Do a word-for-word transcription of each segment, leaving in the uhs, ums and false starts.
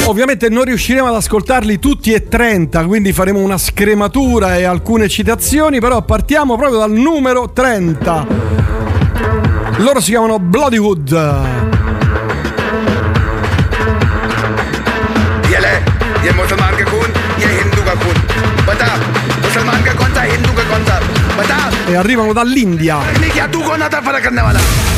Ovviamente non riusciremo ad ascoltarli tutti e trenta, quindi faremo una scrematura e alcune citazioni, però partiamo proprio dal numero trenta. Loro si chiamano Bloodywood. Yele, ye Musliman ke khun, ye Hindu ka khun. Bata, Musliman ka kaun sa, Hindu ka kaun sa? Bata. E arrivano dall'India. Kya tu kaun aata farak karne wala?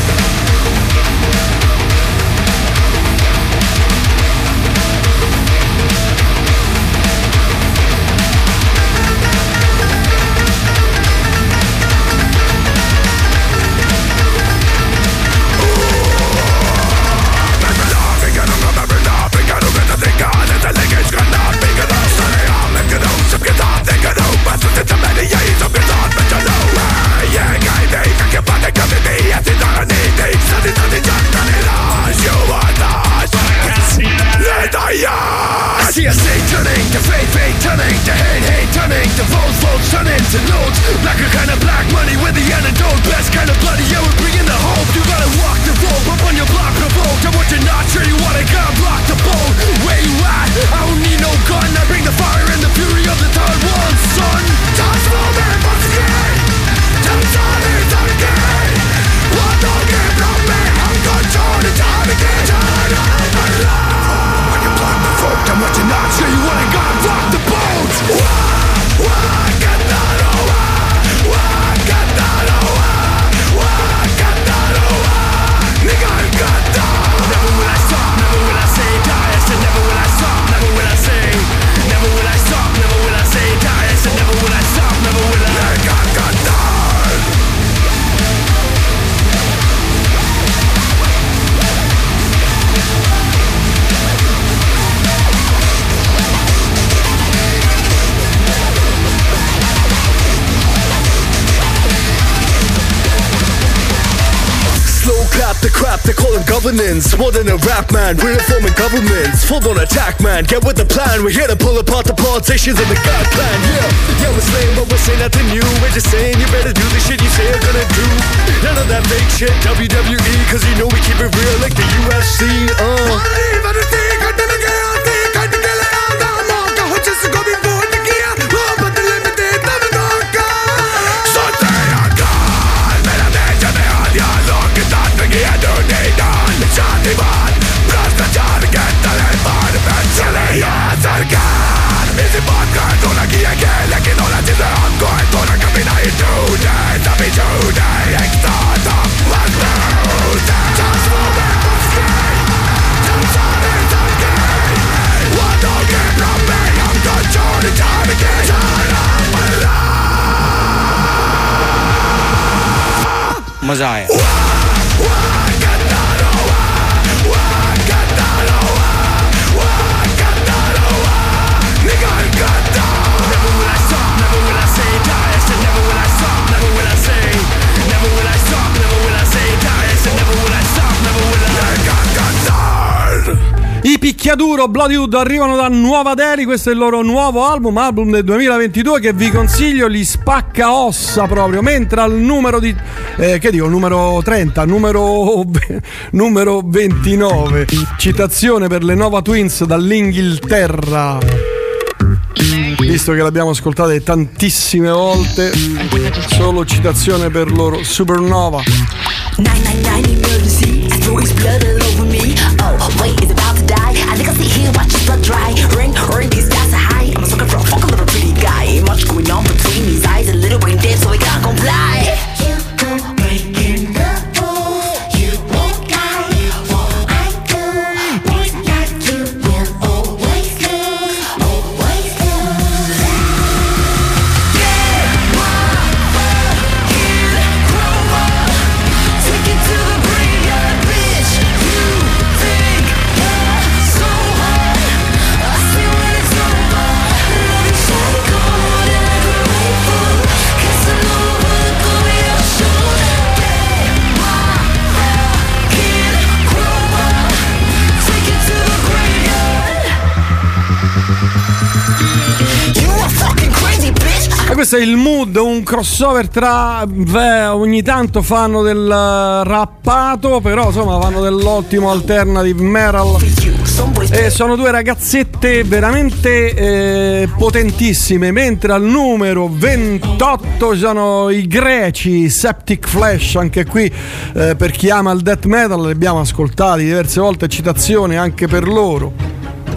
I see a state turning to fate, fate turning to hate, hate turning to votes, votes turning to notes. Blacker kind of black money with the antidote. Best kind of bloody, yeah, we're bringing the hope. You gotta walk the rope up on your block, provoked. And what you're not sure you wanna gotta block the boat. Where you at? I don't need no gun. I bring the fire and the fury of the third one, son. Toss for me once again. Jumps on it again. What don't get from me? I'm gonna turn it time again. Turn on my life. And what you're not sure you wanna gotta rock the boat. Wah, wah, get that over. Wah, get that over. Wah, get that over. Nigga, get that. Never will I stop, never will I say die. I said never will I stop, never will I say. Never will I stop, never will I say die. I said never will I stop, never will I. Nigga, get that. Clap the crap, they call them governance. More than a rap man, we're reforming governments. Full on attack man, get with the plan. We're here to pull apart the politicians and the God plan. Yeah, yeah, we're saying but we're saying nothing new. We're just saying you better do the shit you say you're gonna do. None of that fake shit, W W E. Cause you know we keep it real like the U F C. Uh Shatiban, भ्रष्टाचार के तले पर चले यहाँ सरकार इसी बात का तो ना किया गया लेकिन होना जिसे हमको है तो ना कभी नहीं टूटे तभी छूटे एक साथ हम मजबूत हैं Just for me, just sorry, sorry What don't get from me, I'm gonna turn it time again Turn up my life मजा आया I Picchiaduro Bloodywood arrivano da Nuova Delhi, questo è il loro nuovo album, album del duemilaventidue che vi consiglio, li spacca ossa proprio, mentre al numero di eh, che dico, numero trenta, numero numero ventinove, citazione per le Nova Twins dall'Inghilterra. Visto che l'abbiamo ascoltata tantissime volte, solo citazione per loro, Supernova. nine nine nine emergency, throwing blood all over me. Oh, wait, is about to die. I think I'll sit here, watch his blood dry. Ring, ring, these stats are high. I'm looking for a fucking little pretty guy. Ain't much going on between these eyes. A little brain dead, so we can't comply. You go breaking the rules. You won't die. What I do is like you will always lose. Always lose. Get my fucking Grover. Take it to the graveyard, bitch. You think you're so hard. I see when it's over. Love you shiny cold and I could wait for. Casanova, go be your shoulder. Get my fucking Grover. Take it to the graveyard. You are fucking crazy, bitch. E questo è il Mood, un crossover tra beh, ogni tanto fanno del rappato, però insomma fanno dell'ottimo alternative metal. E sono due ragazzette veramente eh, potentissime. Mentre al numero ventotto ci sono i greci Septic Flesh, anche qui eh, per chi ama il death metal li abbiamo ascoltati diverse volte, citazioni anche per loro.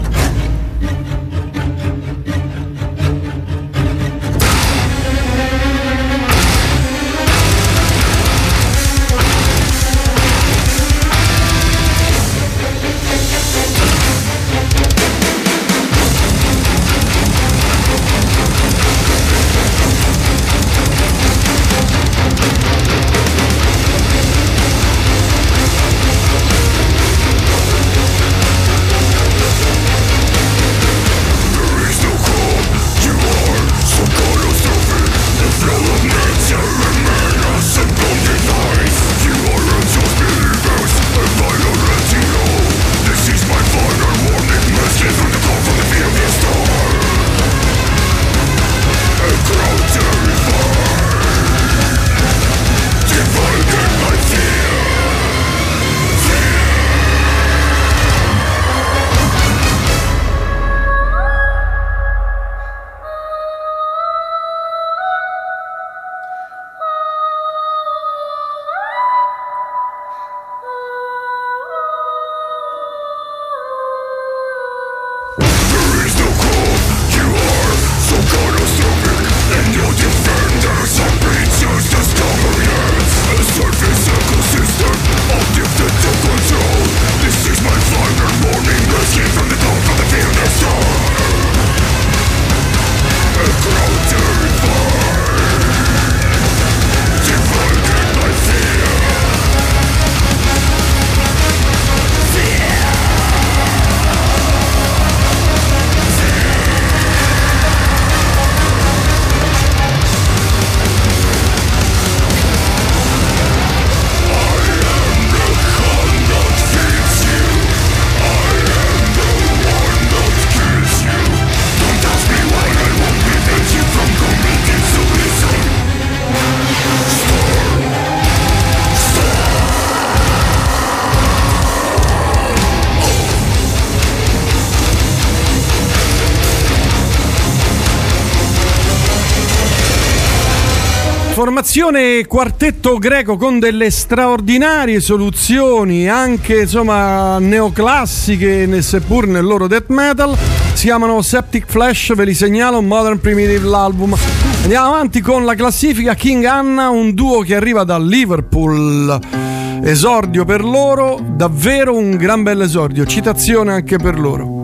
Formazione quartetto greco con delle straordinarie soluzioni, anche insomma neoclassiche, seppur nel loro death metal. Si chiamano Septic Flesh, ve li segnalo, Modern Primitive l'album. Andiamo avanti con la classifica. King Anna, un duo che arriva da Liverpool. Esordio per loro, davvero un gran bel esordio, citazione anche per loro.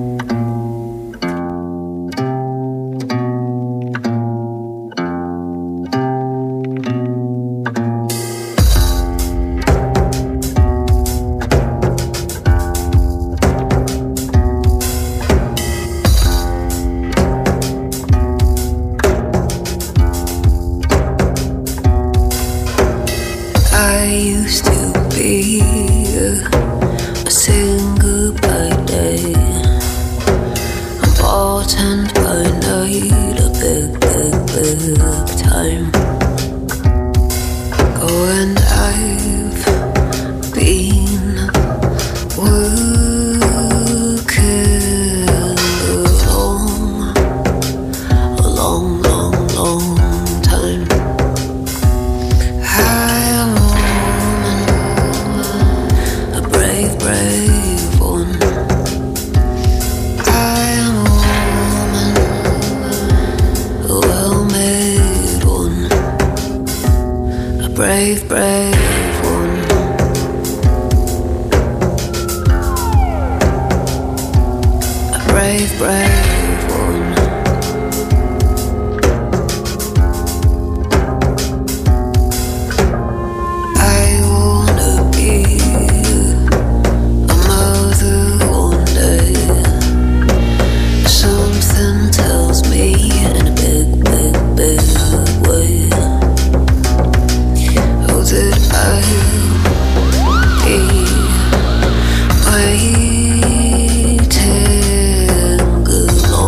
Waiting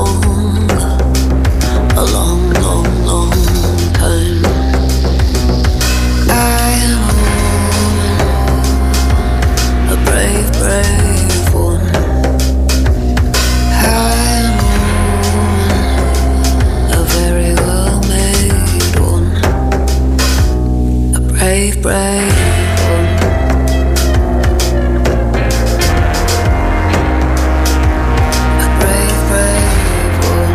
brave one. A brave, brave one.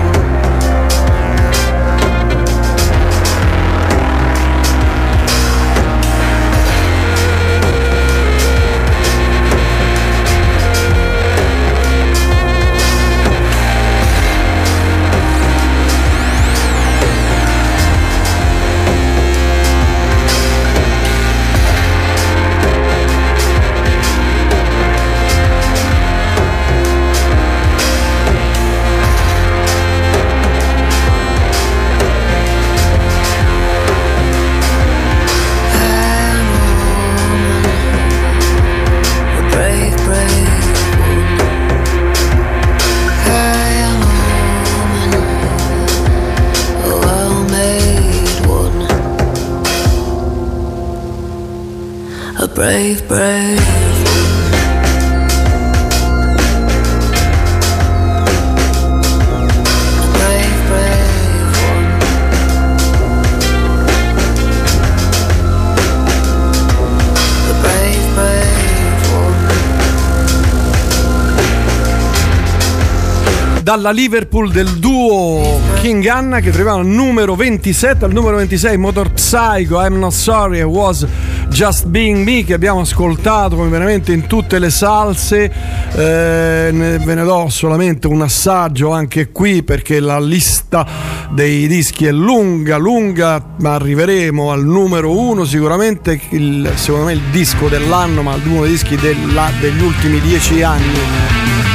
Brave, brave. Brave, brave one. A brave, brave one. Dalla Liverpool del duo King Anna, che troviamo al numero ventisette, al numero ventisei Motor Psycho, I'm Not Sorry, It Was Just Being Me, che abbiamo ascoltato come veramente in tutte le salse. Eh, ne, ve ne do solamente un assaggio anche qui, perché la lista dei dischi è lunga, lunga, ma arriveremo al numero uno sicuramente, il, secondo me il disco dell'anno, ma uno dei dischi della, degli ultimi dieci anni.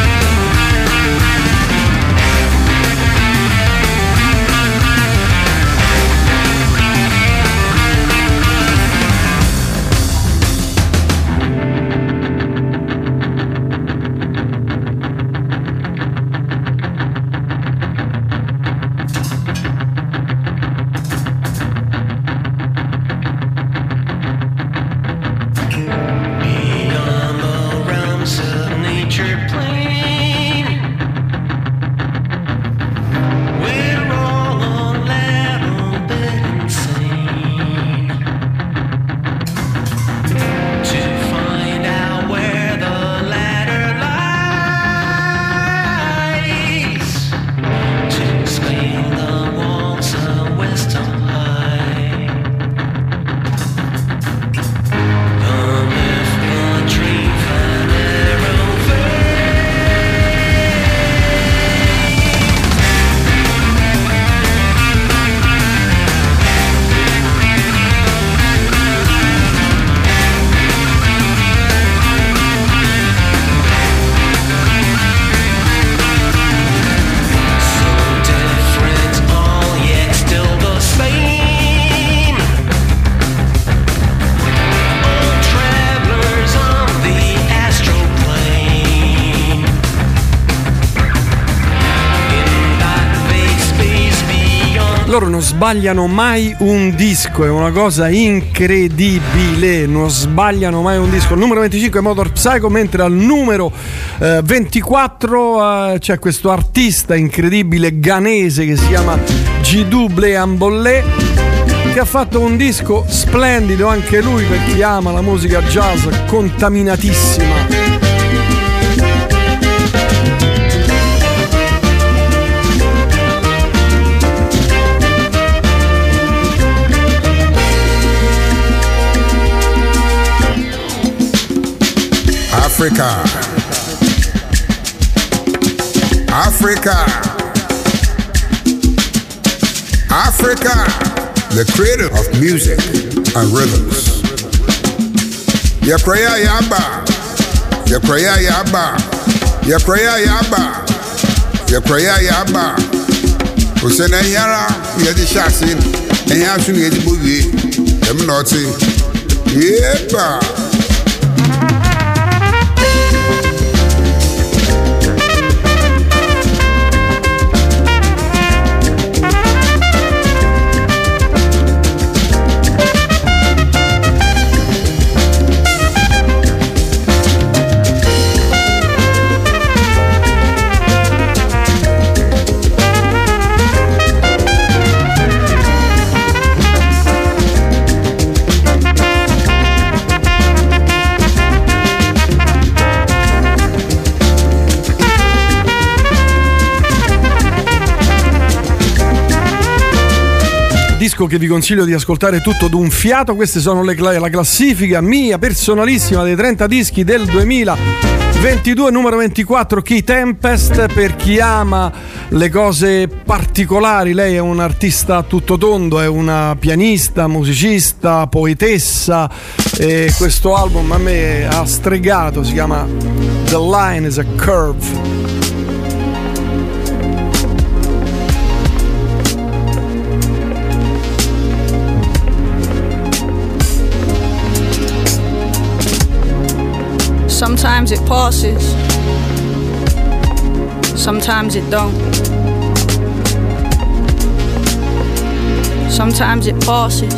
Loro non sbagliano mai un disco, è una cosa incredibile, non sbagliano mai un disco. Il numero venticinque è Motor Psycho, mentre al numero eh, ventiquattro eh, c'è questo artista incredibile ghanese che si chiama G-Double Ambollé, che ha fatto un disco splendido anche lui per chi ama la musica jazz contaminatissima. Africa, Africa, Africa, the creator of music and rhythms. Yakraya Yaba, Yakraya Yaba, Yakraya Yaba, Yakraya Yaba. Usena Yara, Yadi Shasin, and Yasun Yadi Boogie, Eminoti, Yeba. disco che vi consiglio di ascoltare tutto d'un fiato. Queste sono le, la classifica mia personalissima dei trenta dischi del duemilaventidue, numero ventiquattro, Key Tempest. Per chi ama le cose particolari, lei è un artista a tutto tondo, è una pianista, musicista, poetessa, e questo album a me ha stregato, si chiama The Line is a Curve. Sometimes it passes, sometimes it don't. Sometimes it passes,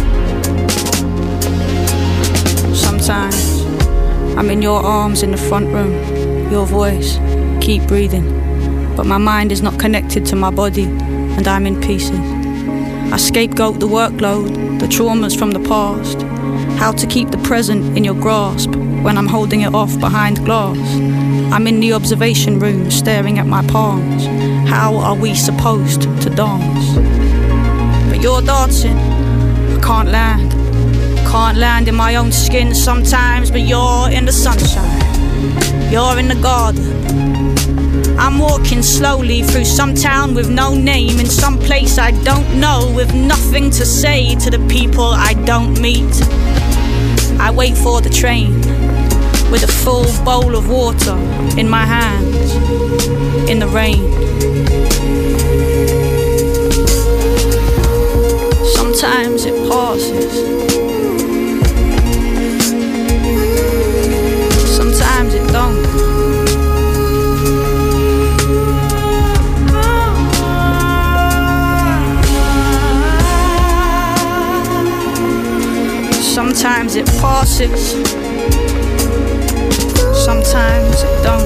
sometimes I'm in your arms in the front room, your voice, keep breathing. But my mind is not connected to my body and I'm in pieces. I scapegoat the workload, the traumas from the past. How to keep the present in your grasp when I'm holding it off behind glass. I'm in the observation room staring at my palms. How are we supposed to dance? But you're dancing, I can't land. Can't land in my own skin sometimes, but you're in the sunshine. You're in the garden. I'm walking slowly through some town with no name, in some place I don't know, with nothing to say to the people I don't meet. I wait for the train with a full bowl of water in my hands in the rain. Sometimes it passes, sometimes it don't. Sometimes it passes, sometimes it don't.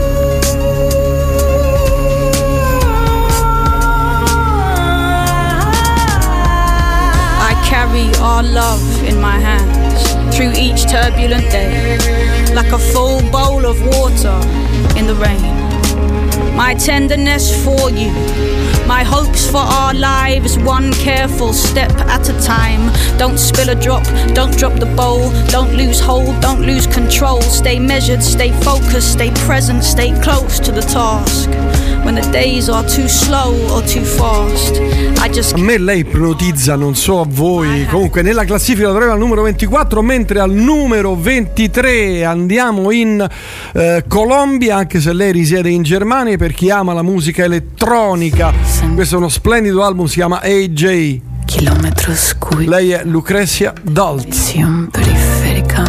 I carry our love in my hands through each turbulent day, like a full bowl of water in the rain. My tenderness for you, my hopes for our lives, one careful step at a time. Don't spill a drop, don't drop the bowl, don't lose hold, don't lose control. Stay measured, stay focused, stay present, stay close to the task. When the days are too slow or too fast, I just... A me lei ipnotizza, non so a voi. Comunque nella classifica la troviamo al numero ventiquattro, mentre al numero ventitré andiamo in eh, Colombia, anche se lei risiede in Germania. Per chi ama la musica elettronica, questo è uno splendido album, si chiama A J. Kilómetros cúbicos. Lei è Lucrezia Dalt. Visión periférica.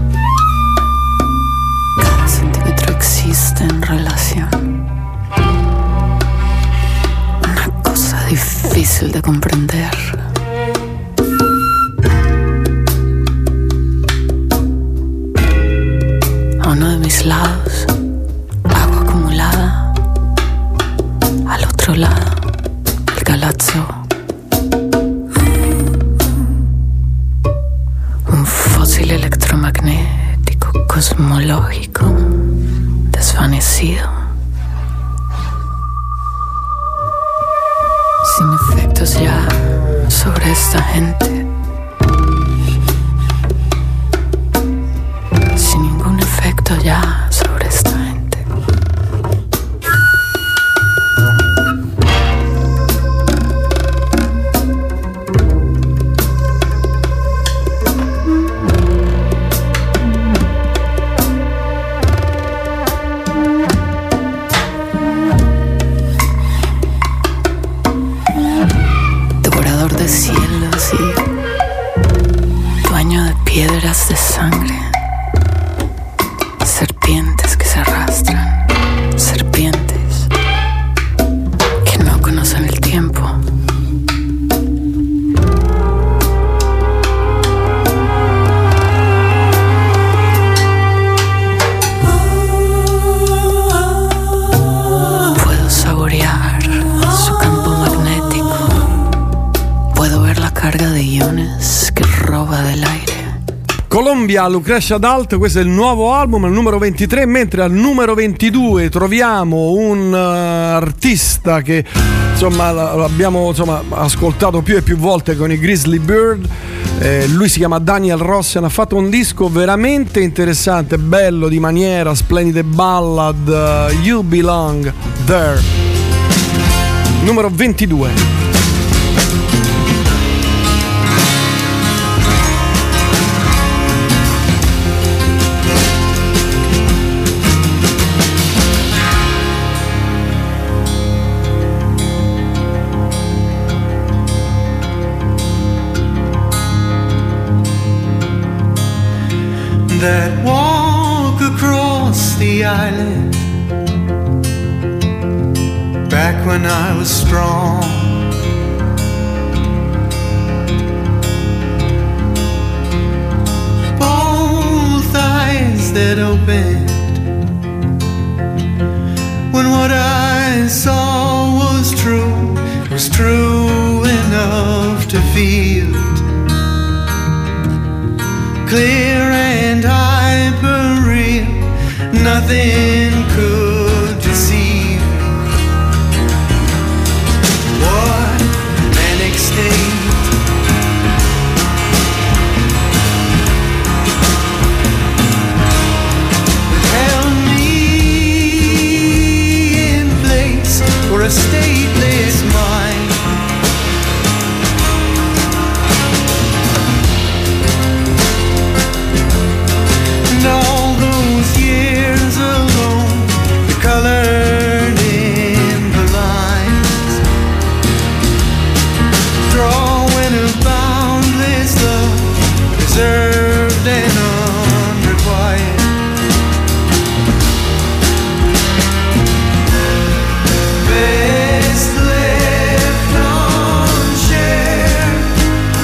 Cada centímetro existe en relación. Una cosa difícil de comprender. A uno de mis lados, agua acumulada. Al otro lado, el galazzo. Un fósil electromagnético cosmológico desvanecido, sin efectos ya sobre esta gente, sin ningún efecto ya sobre esta gente. Piedras de sangre, serpientes que se arrastran, serpientes que no conocen el tiempo. Puedo saborear su campo magnético, puedo ver la carga de iones que roba del aire. Colombia cambia Lucretia Dalt, questo è il nuovo album, al numero ventitré, mentre al numero ventidue troviamo un uh, artista che insomma l'abbiamo insomma, ascoltato più e più volte con i Grizzly Bird. Eh, lui si chiama Daniel Rossen, ha fatto un disco veramente interessante, bello di maniera, splendide ballad, uh, You Belong There. Numero ventidue. That walk across the island, back when I was strong, both eyes that opened when what I saw was true, was true enough to feel it, clear and hyper-real, nothing could deceive me. What manic state, held me in place for a stateless mind. And all those years alone, the colored in the lines, drawing a boundless love, reserved and unrequired. Best left unshared.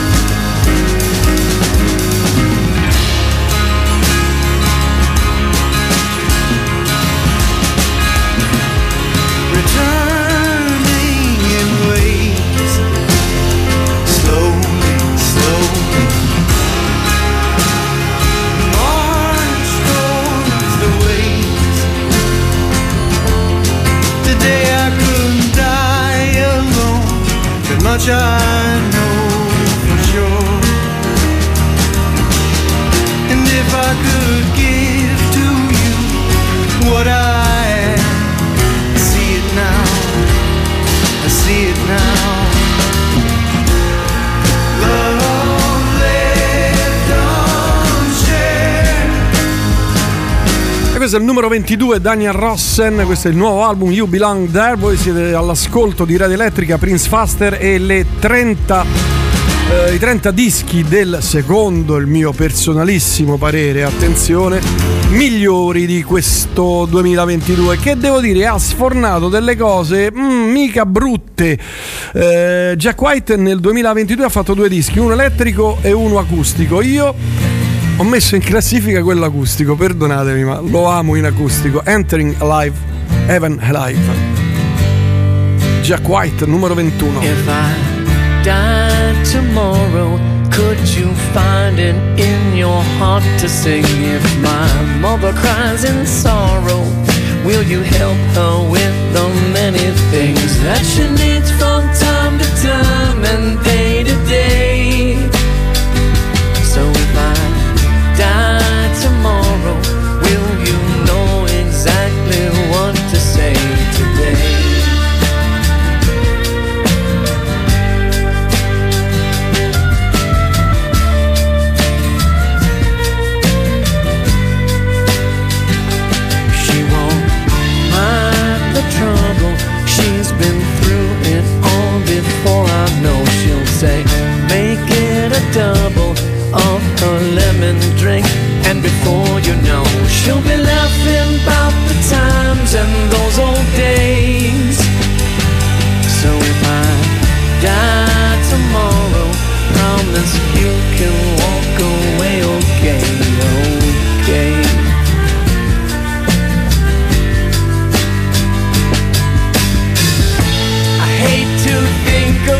Returning in waves, slowly, slowly, march towards the waves. Today I could die alone, but much I know for sure. And if I could give to you what I see it now, I see it now. Love left unshared. E questo è il numero ventidue, Daniel Rossen, questo è il nuovo album You Belong There. Voi siete all'ascolto di Radio Elettrica, Prince Faster e le trenta, eh, i trenta dischi del secondo, il mio personalissimo parere, attenzione, migliori di questo duemilaventidue, che devo dire ha sfornato delle cose mm, mica brutte. eh, Jack White nel duemilaventidue ha fatto due dischi, uno elettrico e uno acustico. Io ho messo in classifica quello acustico, perdonatemi ma lo amo in acustico. Entering Alive, Heaven Alive, Jack White, numero ventuno. If I died tomorrow, could you find it in your heart to sing? If my mother cries in sorrow, will you help her with the many things that she needs from time to time and day to day? So if I die tomorrow, will you know exactly what to say today? She won't mind the trouble, she's been through it all before. I know she'll say, make it a double of her lemon drink, and before you know, she'll be laughing about the times and those old days. So if I die tomorrow, promise you can walk away okay, okay. I hate to think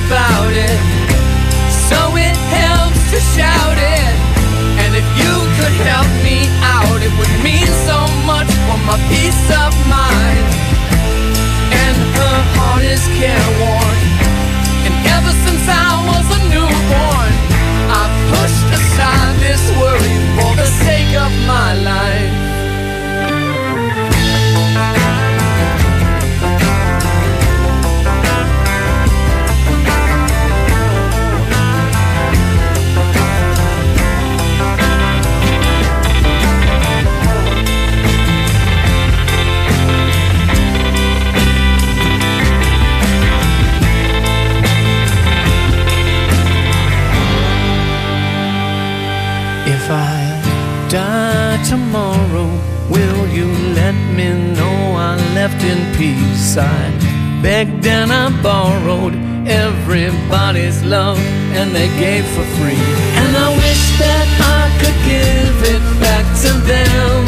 left in peace. I begged and I borrowed everybody's love, and they gave for free. And I wish that I could give it back to them.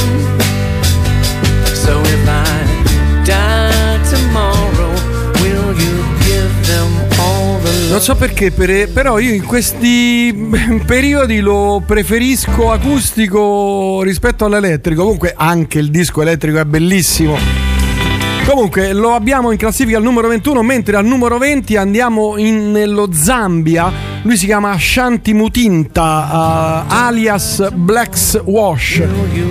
So if I die tomorrow, will you give them all the love? Non so perché, per- però io in questi periodi lo preferisco acustico rispetto all'elettrico. Comunque anche il disco elettrico è bellissimo. Comunque lo abbiamo in classifica al numero ventuno, mentre al numero venti andiamo in, nello Zambia. Lui si chiama Shanti Mutinta, uh, alias Black's Wash.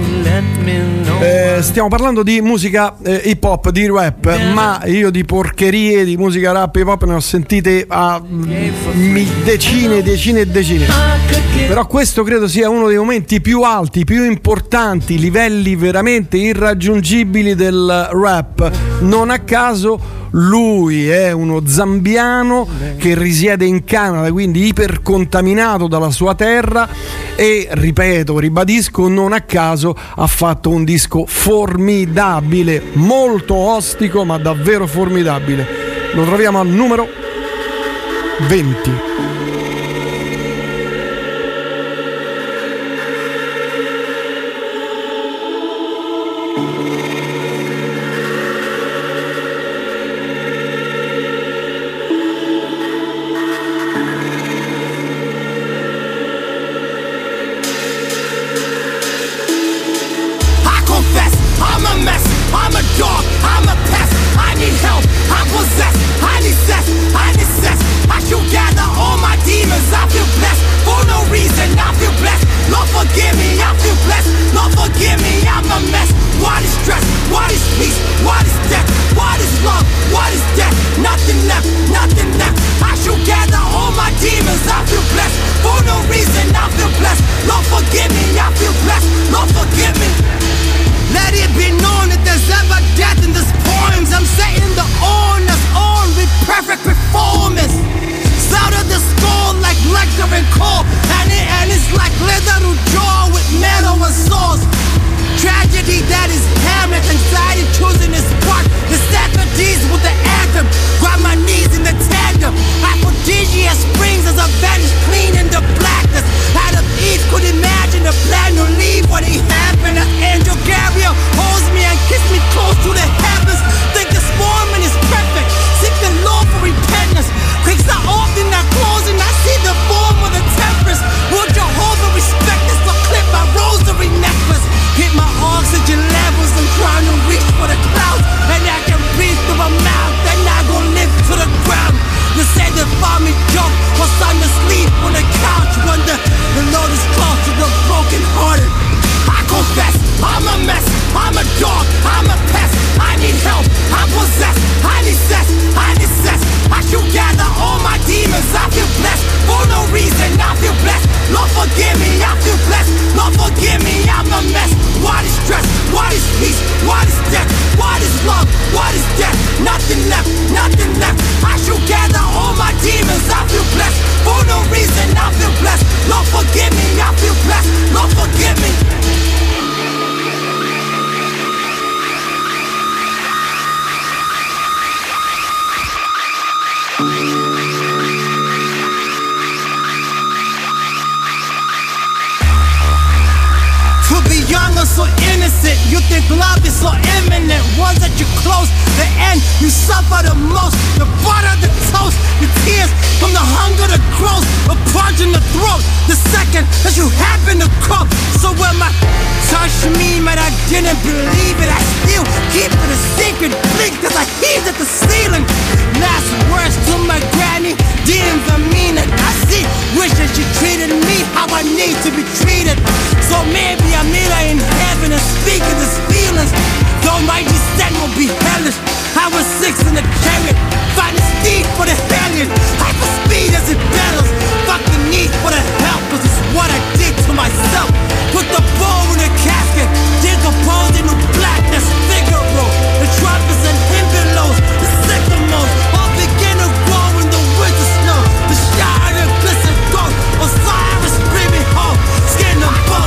Eh, stiamo parlando di musica eh, hip hop, di rap, ma io di porcherie, di musica rap hip hop ne ho sentite a mm, decine, decine e decine. Però questo credo sia uno dei momenti più alti, più importanti, livelli veramente irraggiungibili del rap. Non a caso lui è uno zambiano che risiede in Canada, quindi ipercontaminato dalla sua terra, e ripeto, ribadisco, non a caso ha fatto un disco formidabile, molto ostico ma davvero formidabile. Lo troviamo al numero venti.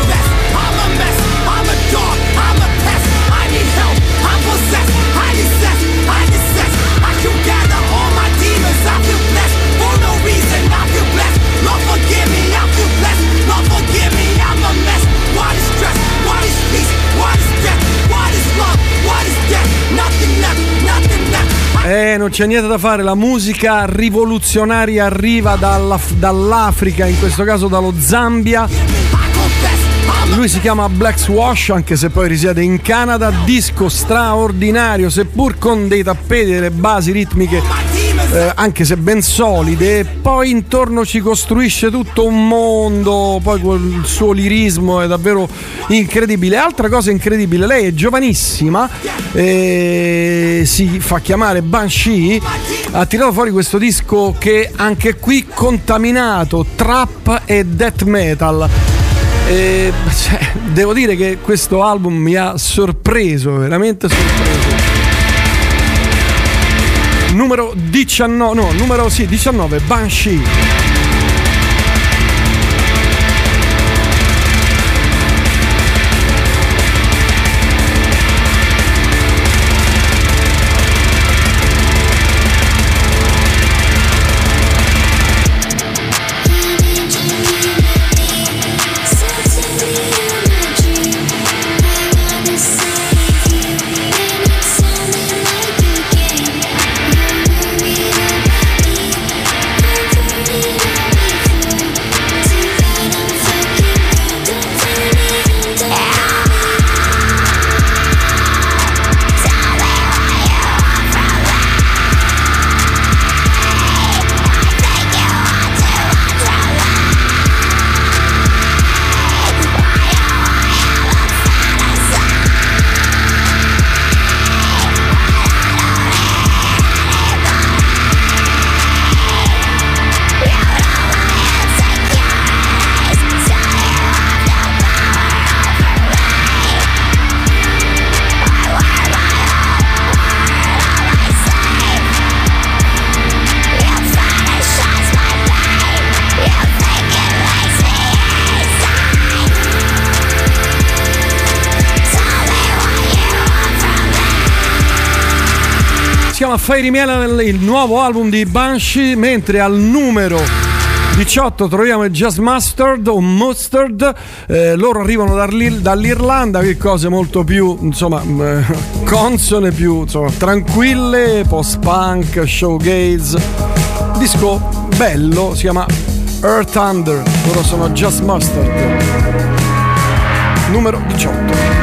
I'm a mess, I'm a dog, I'm a pest, I need help, I'm possessed, I need sex. Eh, non c'è niente da fare, la musica rivoluzionaria arriva dalla, dall'Africa, in questo caso dallo Zambia. Lui si chiama Black Swash, anche se poi risiede in Canada. Disco straordinario, seppur con dei tappeti, delle basi ritmiche eh, anche se ben solide. E poi intorno ci costruisce tutto un mondo, poi col suo lirismo è davvero incredibile. Altra cosa incredibile, lei è giovanissima, eh, si fa chiamare Banshee, ha tirato fuori questo disco che anche qui contaminato trap e death metal. E, cioè, devo dire che questo album mi ha sorpreso, veramente sorpreso. Numero diciannove, no, numero sì, diciannove, Banshee. Fairy Miel, il nuovo album di Banshee, mentre al numero diciotto troviamo il Just Mustard o Mustard. Eh, loro arrivano dall'Irlanda, che cose molto più insomma eh, consone, più insomma tranquille, post-punk, showgaze. Disco bello, si chiama Earth Under, loro sono Just Mustard. Numero diciotto.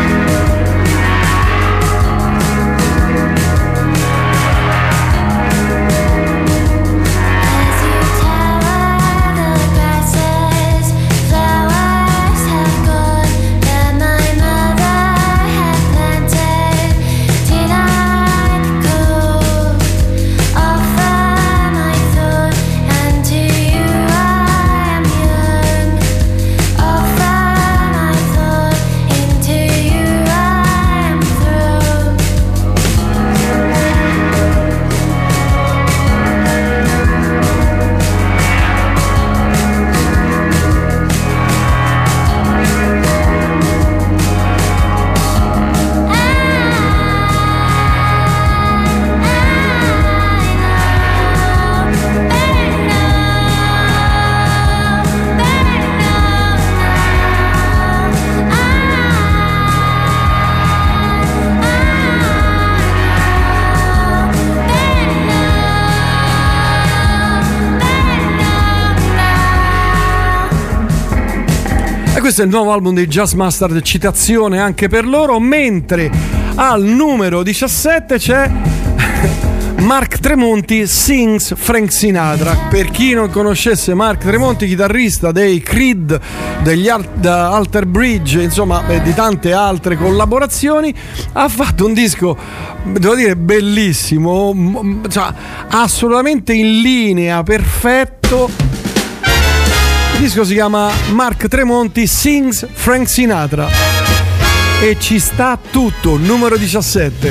Questo è il nuovo album dei Just Mustard, citazione anche per loro. Mentre al numero diciassette c'è Mark Tremonti Sings Frank Sinatra. Per chi non conoscesse Mark Tremonti, chitarrista dei Creed, degli Al- Alter Bridge, insomma eh, di tante altre collaborazioni, ha fatto un disco, devo dire, bellissimo, m- cioè, assolutamente in linea, perfetto. Il disco si chiama Mark Tremonti Sings Frank Sinatra e ci sta tutto. Numero diciassette.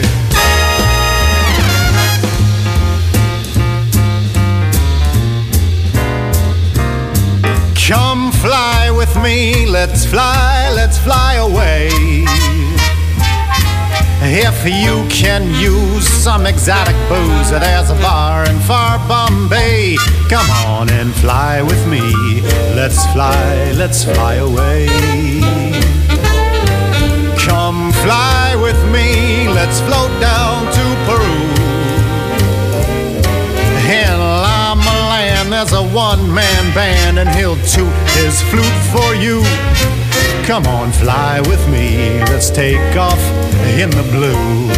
Come fly with me, let's fly, let's fly away. If you can use some exotic booze, there's a bar in far Bombay. Come on and fly with me. Let's fly, let's fly away. Come fly with me, let's float down to Peru. as a one-man band, and he'll toot his flute for you. Come on, fly with me, let's take off in the blue.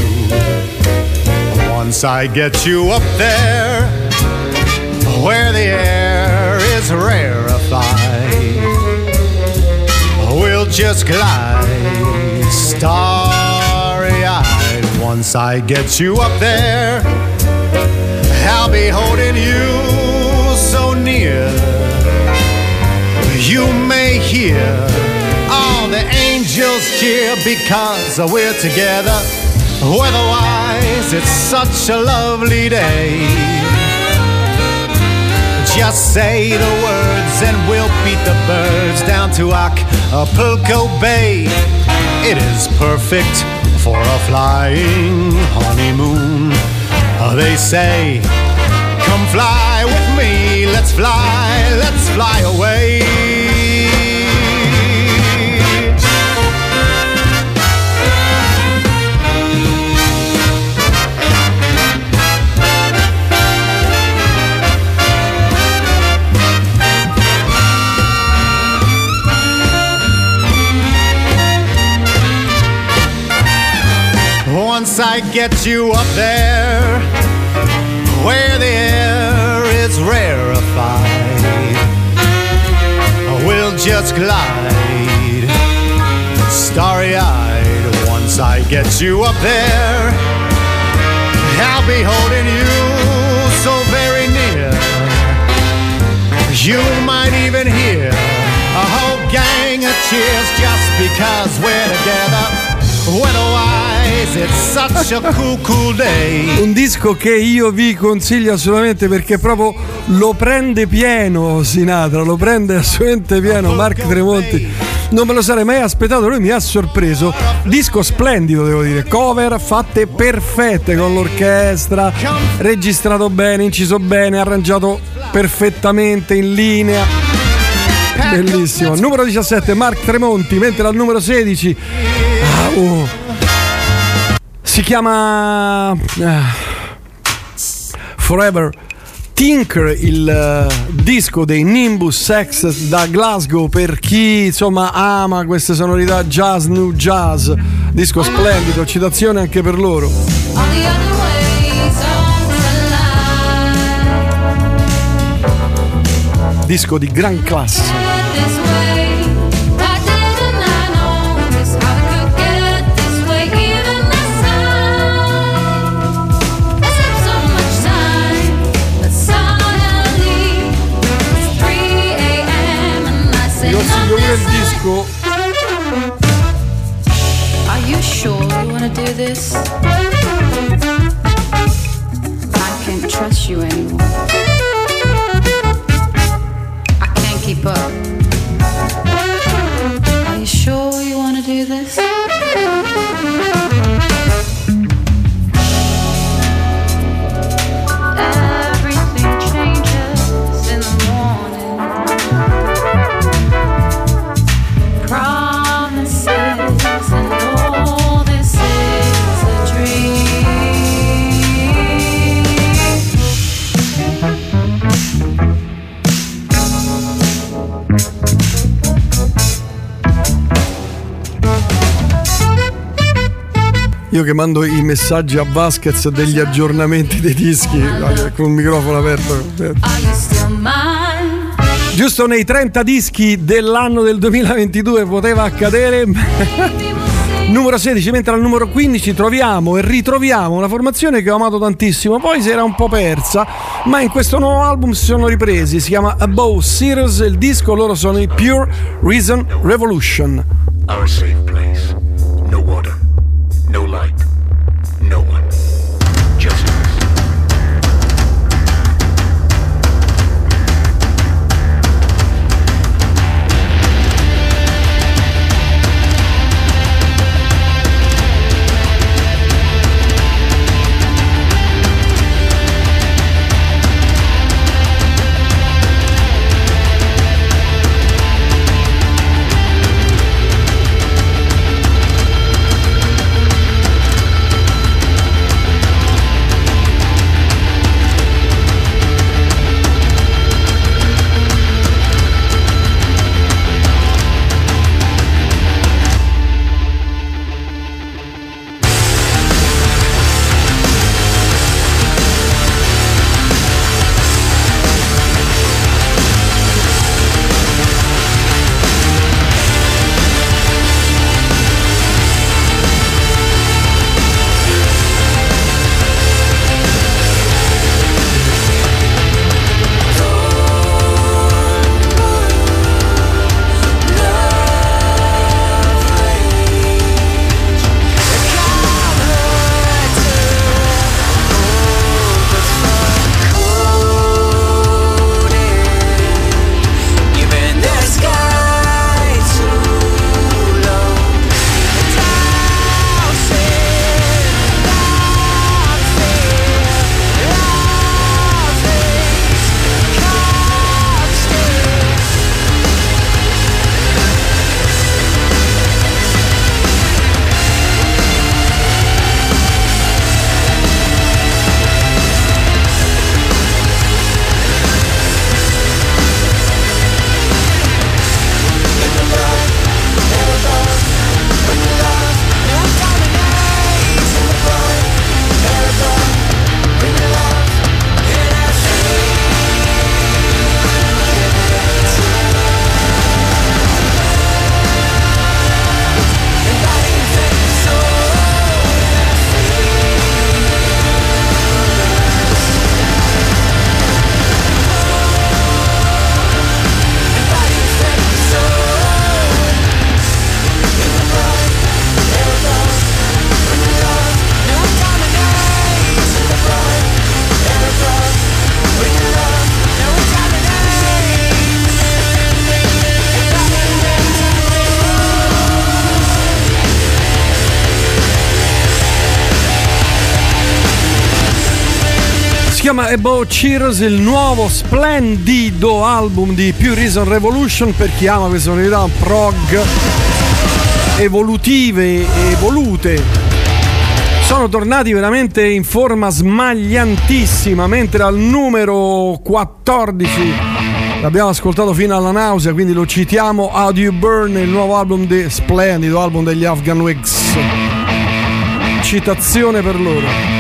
Once I get you up there, where the air is rarefied, we'll just glide starry-eyed. Once I get you up there, I'll be holding you so near, you may hear all the angels cheer because we're together. Weatherwise, it's such a lovely day. Just say the words and we'll beat the birds down to Acapulco Bay. It is perfect for a flying honeymoon. They say, come fly with me, let's fly, let's fly away. Once I get you up there, where the air is rarefied, we'll just glide starry-eyed. Once I get you up there, I'll be holding you so very near, you might even hear a whole gang of cheers just because we're together. Weatherwise, it's such a cool, cool day. Un disco che io vi consiglio assolutamente perché proprio lo prende pieno Sinatra, lo prende assolutamente pieno Mark Tremonti. Non me lo sarei mai aspettato, lui mi ha sorpreso. Disco splendido, devo dire, cover fatte perfette con l'orchestra, registrato bene, inciso bene, arrangiato perfettamente in linea. Bellissimo. Numero diciassette Mark Tremonti, mentre al numero sedici ah, oh, si chiama uh, Forever Tinker, il uh, disco dei Nimbus X da Glasgow, per chi insomma ama queste sonorità jazz, new jazz. Disco splendido, citazione anche per loro. Disco di gran classe. Il disco. Are you sure you wanna do this? I can't trust you anymore. I can't keep up. Are you sure you wanna do this? Everything changes in the morning. Promises and all this is a Io che mando i messaggi a Vasquez degli aggiornamenti dei dischi con il microfono aperto. Giusto nei trenta dischi dell'anno del duemilaventidue poteva accadere. Numero sedici, mentre al numero quindici troviamo e ritroviamo una formazione che ho amato tantissimo, poi si era un po' persa, ma in questo nuovo album si sono ripresi. Si chiama Above Serious, il disco, loro sono i Pure Reason Revolution. Our safe place. No water, no light, no one. Just us. chiama About Cheers, il nuovo splendido album di Pure Reason Revolution, per chi ama queste sonorità prog evolutive e evolute. Sono tornati veramente in forma smagliantissima, mentre al numero quattordici l'abbiamo ascoltato fino alla nausea, quindi lo citiamo, How Do You Burn, il nuovo album, de, splendido album degli Afghan Wigs. Citazione per loro.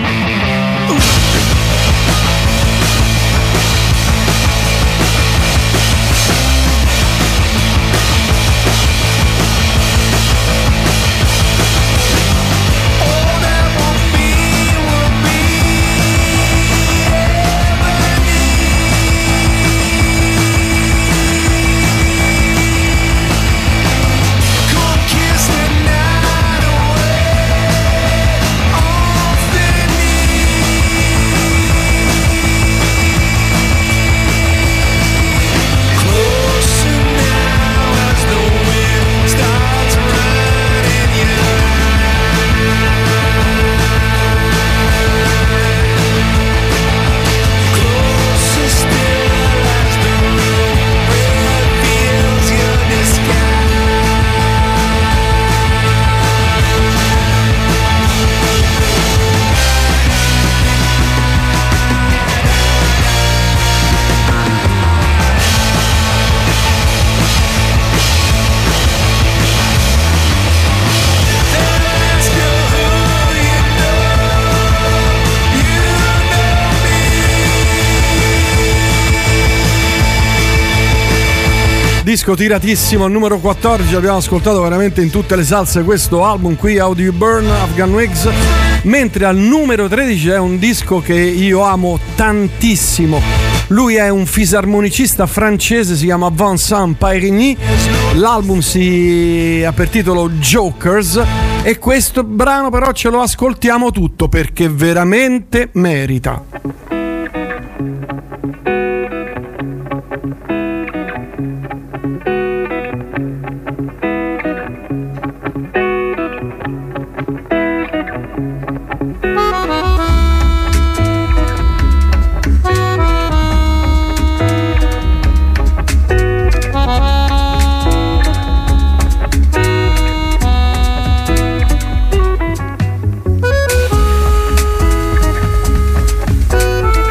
Disco tiratissimo, al numero quattordici abbiamo ascoltato veramente in tutte le salse questo album qui, How Do You Burn, Afghan Wigs, mentre al numero tredici è un disco che io amo tantissimo. Lui è un fisarmonicista francese, si chiama Vincent Pairigny, l'album si ha per titolo Jokers e questo brano però ce lo ascoltiamo tutto perché veramente merita. Thank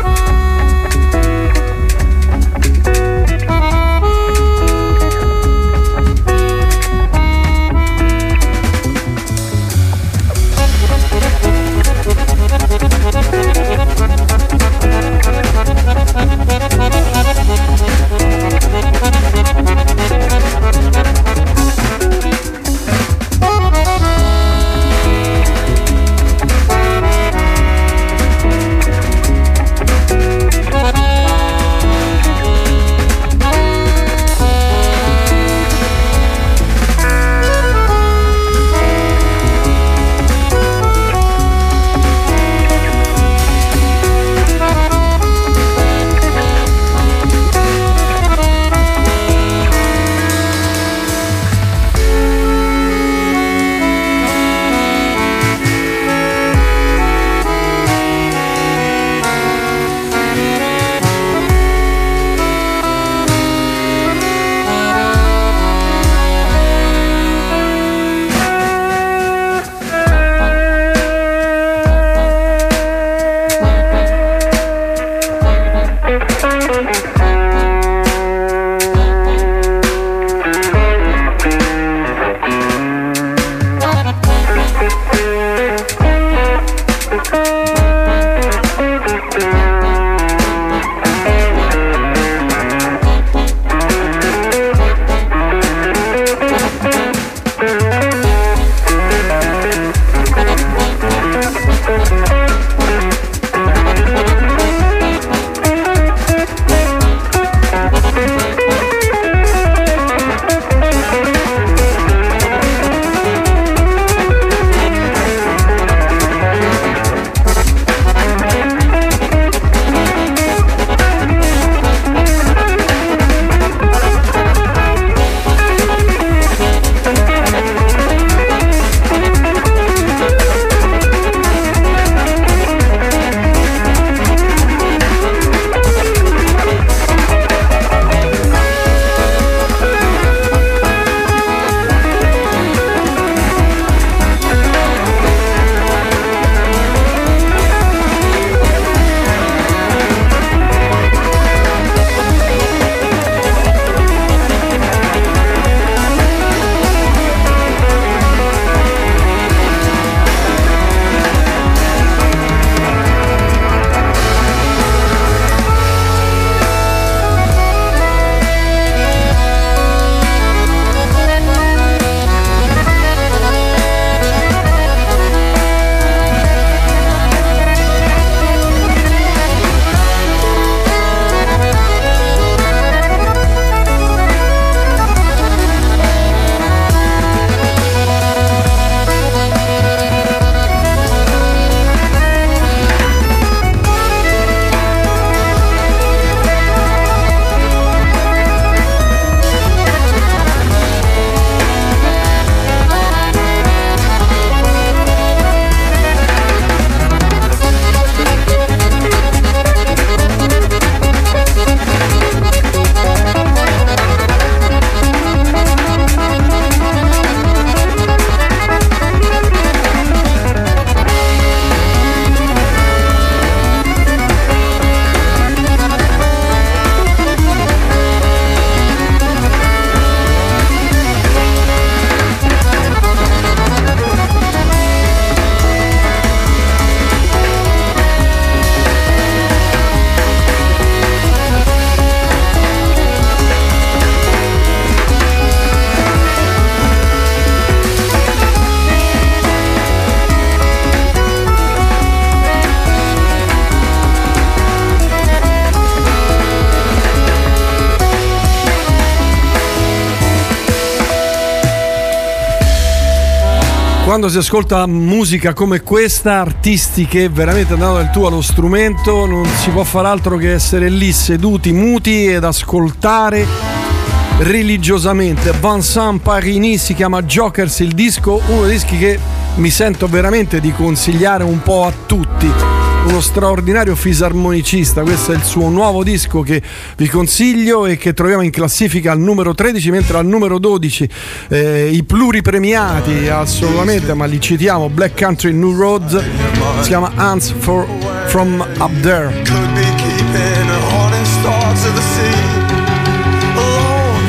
Quando si ascolta musica come questa, artisti che veramente hanno dato del tuo allo strumento, non si può far altro che essere lì seduti, muti ed ascoltare religiosamente. Vincent Parini, si chiama Jokers il disco, uno dei dischi che mi sento veramente di consigliare un po' a tutti. Uno straordinario fisarmonicista, questo è il suo nuovo disco che vi consiglio e che troviamo in classifica al numero tredici, mentre al numero dodici eh, i pluripremiati assolutamente, ma li citiamo, Black Country New Roads, si chiama Ants for, from Up There. Could be keeping a heart and stars of the sea alone.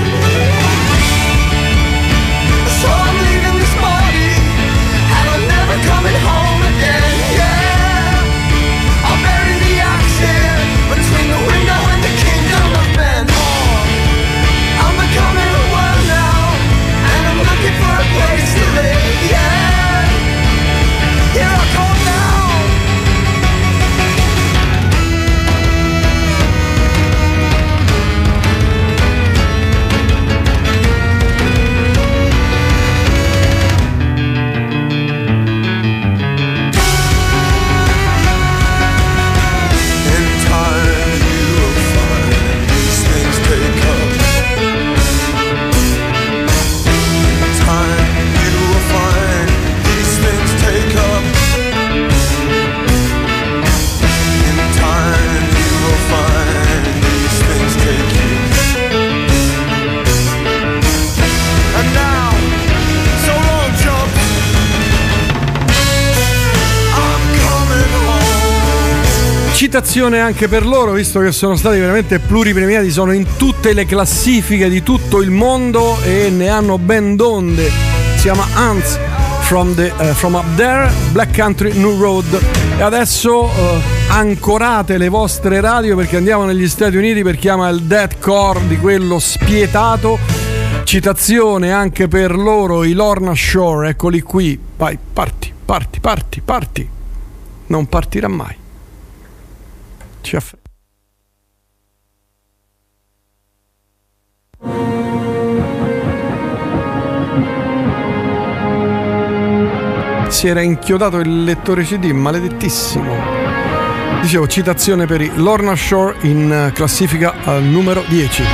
So I'm leaving this body and I'm never coming home again. Yeah, I'll bury the action between the window and the kingdom of men. Oh, I'm becoming a world now and I'm looking for a place to live. Yeah, here I come now. Citazione anche per loro, visto che sono stati veramente pluripremiati, sono in tutte le classifiche di tutto il mondo e ne hanno ben donde. Si chiama Ants from, the, uh, from Up There, Black Country New Road. E adesso uh, ancorate le vostre radio perché andiamo negli Stati Uniti per chiama il deathcore di quello spietato. Citazione anche per loro, i Lorna Shore, eccoli qui. Vai, parti, parti, parti, parti. Non partirà mai. Ci aff- si era inchiodato il lettore C D, maledettissimo. Dicevo, citazione per i Lorna Shore in classifica al numero dieci.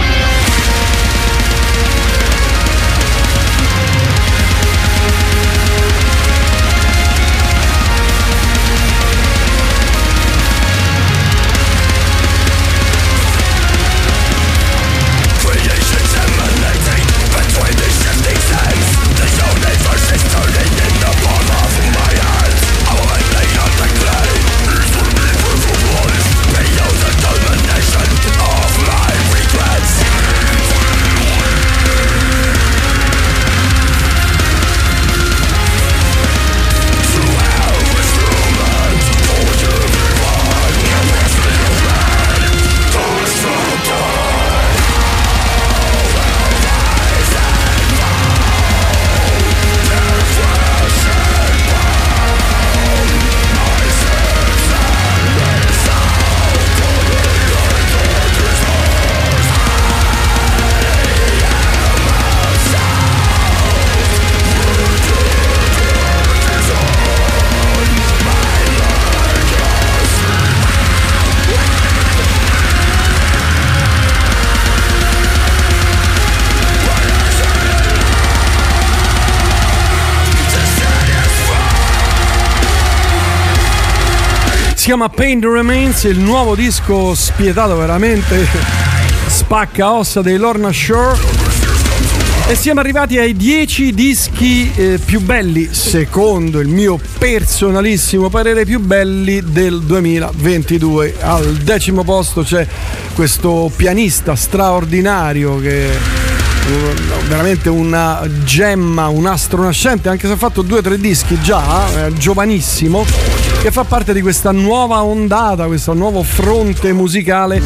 Si chiama Pain Remains, il nuovo disco spietato, veramente spacca ossa dei Lorna Shore. E siamo arrivati ai dieci dischi eh, più belli, secondo il mio personalissimo parere, più belli del duemilaventidue. Al decimo posto c'è questo pianista straordinario che è veramente una gemma, un astro nascente, anche se ha fatto due o tre dischi già, è giovanissimo, che fa parte di questa nuova ondata, questo nuovo fronte musicale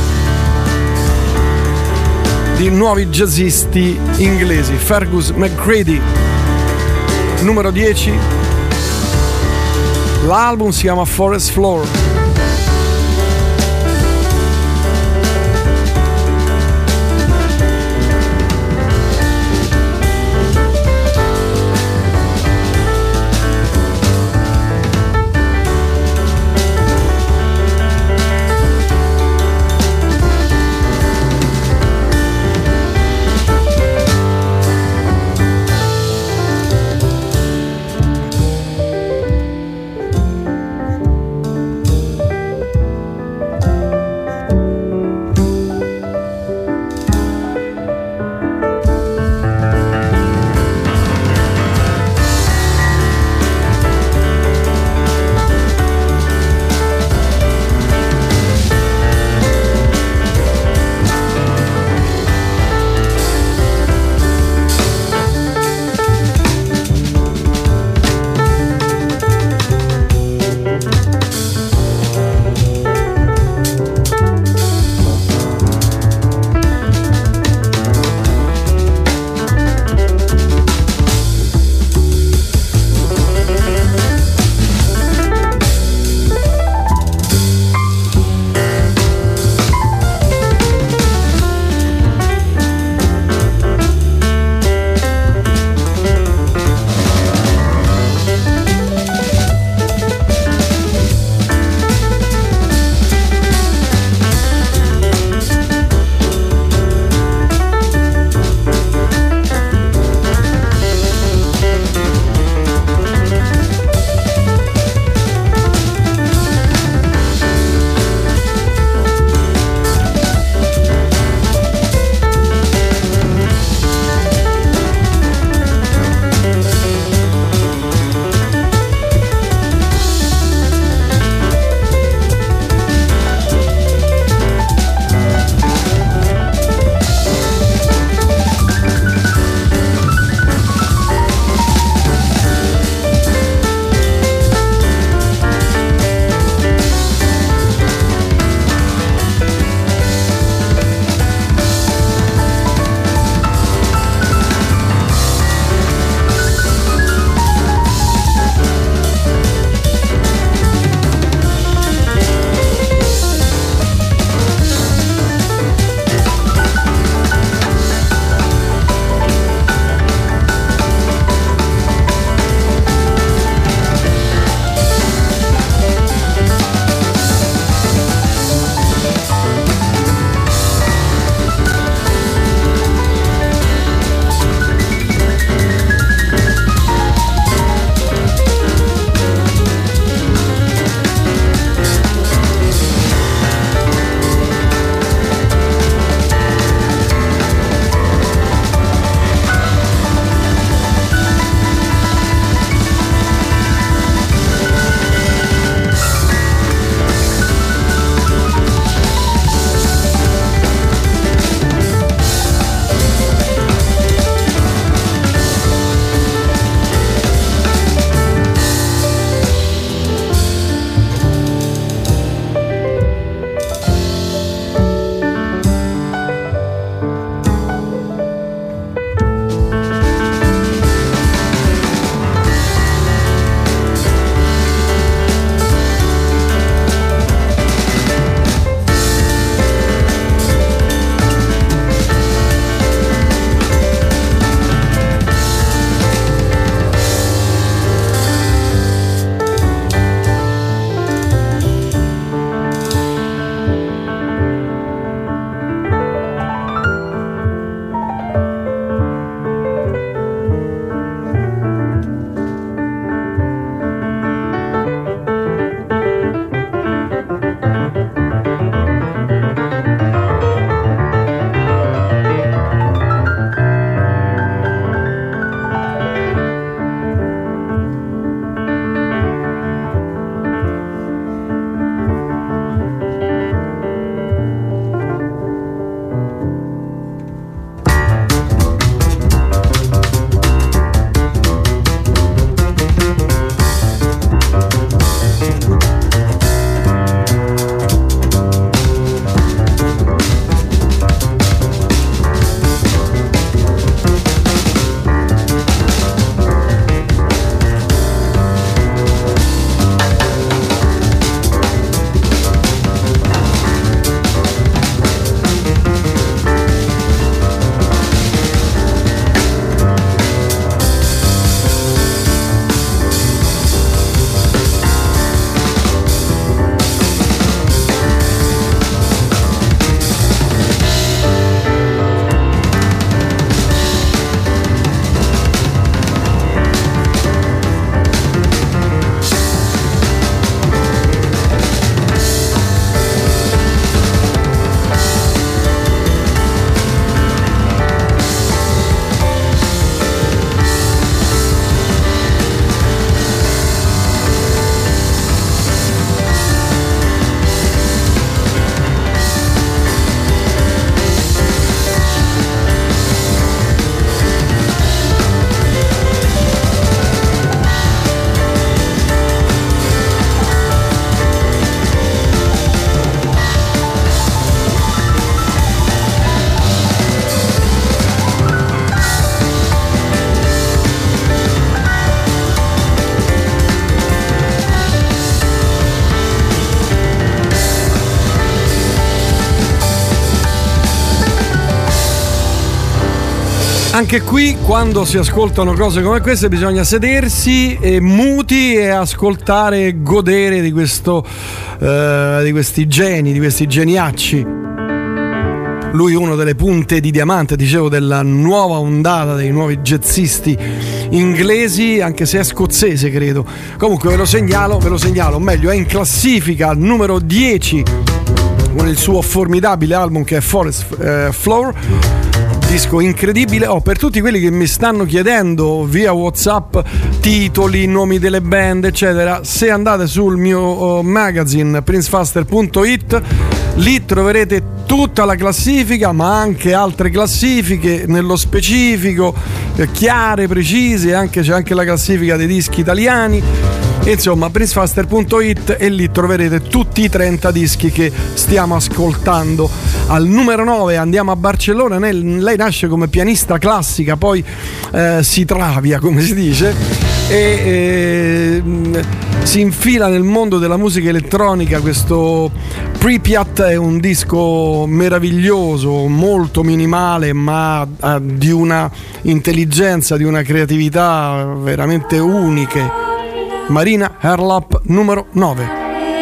di nuovi jazzisti inglesi. Fergus McGrady, numero dieci. L'album si chiama Forest Floor. Anche qui, quando si ascoltano cose come queste, bisogna sedersi e muti e ascoltare e godere di questo eh, di questi geni, di questi geniacci. Lui uno delle punte di diamante, dicevo, della nuova ondata dei nuovi jazzisti inglesi, anche se è scozzese credo. Comunque ve lo segnalo, ve lo segnalo, o meglio è in classifica al numero dieci con il suo formidabile album che è Forest eh, Floor. Disco incredibile. Oh, per tutti quelli che mi stanno chiedendo via WhatsApp titoli, nomi delle band eccetera, se andate sul mio oh, magazine prince faster punto it, lì troverete tutta la classifica, ma anche altre classifiche nello specifico, eh, chiare, precise, anche, c'è anche la classifica dei dischi italiani. Insomma, prince faster punto it, e lì troverete tutti i trenta dischi che stiamo ascoltando. Al numero nove andiamo a Barcellona. Lei nasce come pianista classica, poi eh, si travia, come si dice, e eh, si infila nel mondo della musica elettronica. Questo Pripyat è un disco meraviglioso, molto minimale, ma eh, di una intelligenza, di una creatività veramente uniche. Marina Herlop, numero nove.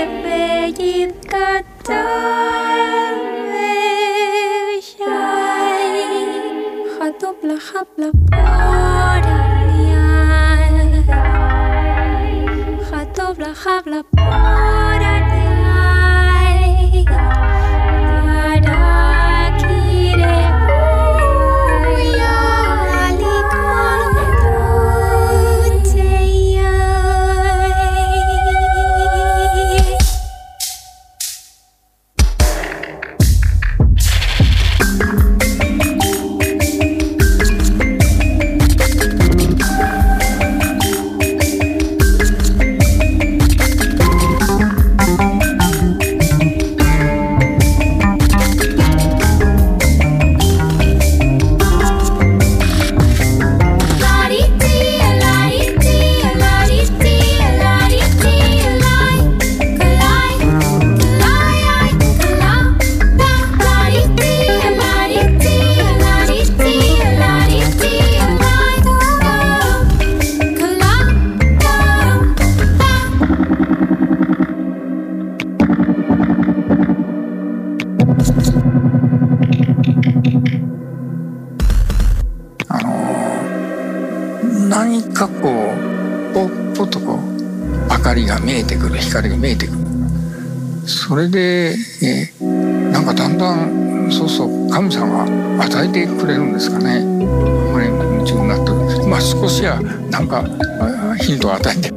光が見えてくる。それで、えー、なんかだんだんそうそう神様が与えてくれるんですかね。あまり夢中になってる。まあ少しはなんかヒントを与えて。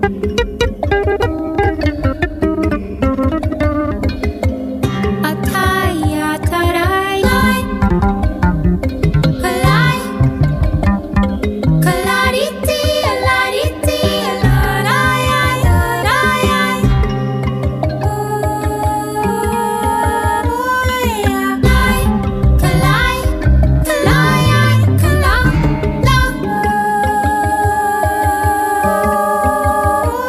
Oh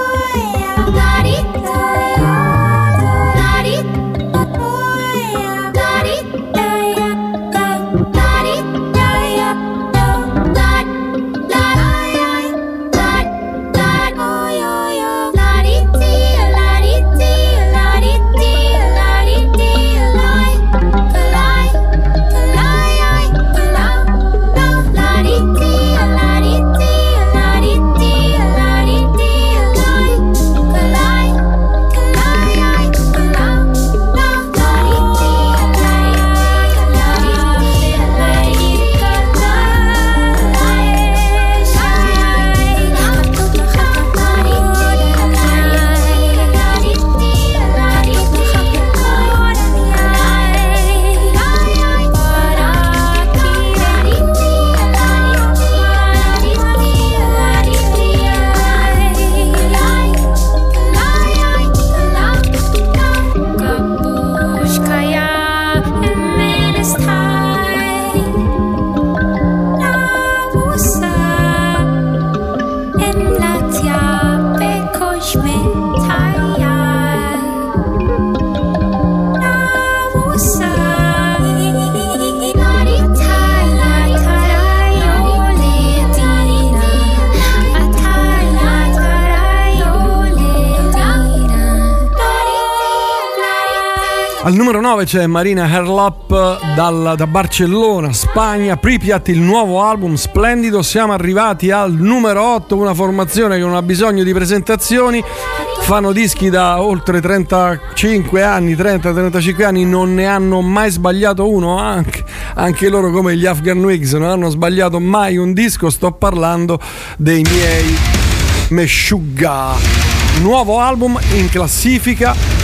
Al numero nove c'è Marina Herlop dal, da Barcellona, Spagna. Pripyat, il nuovo album splendido. Siamo arrivati al numero otto, una formazione che non ha bisogno di presentazioni. Fanno dischi da oltre trentacinque anni, trenta trentacinque anni, non ne hanno mai sbagliato uno, anche, anche loro come gli Afghan Wigs non hanno sbagliato mai un disco. Sto parlando dei miei Meshuggah. Nuovo album in classifica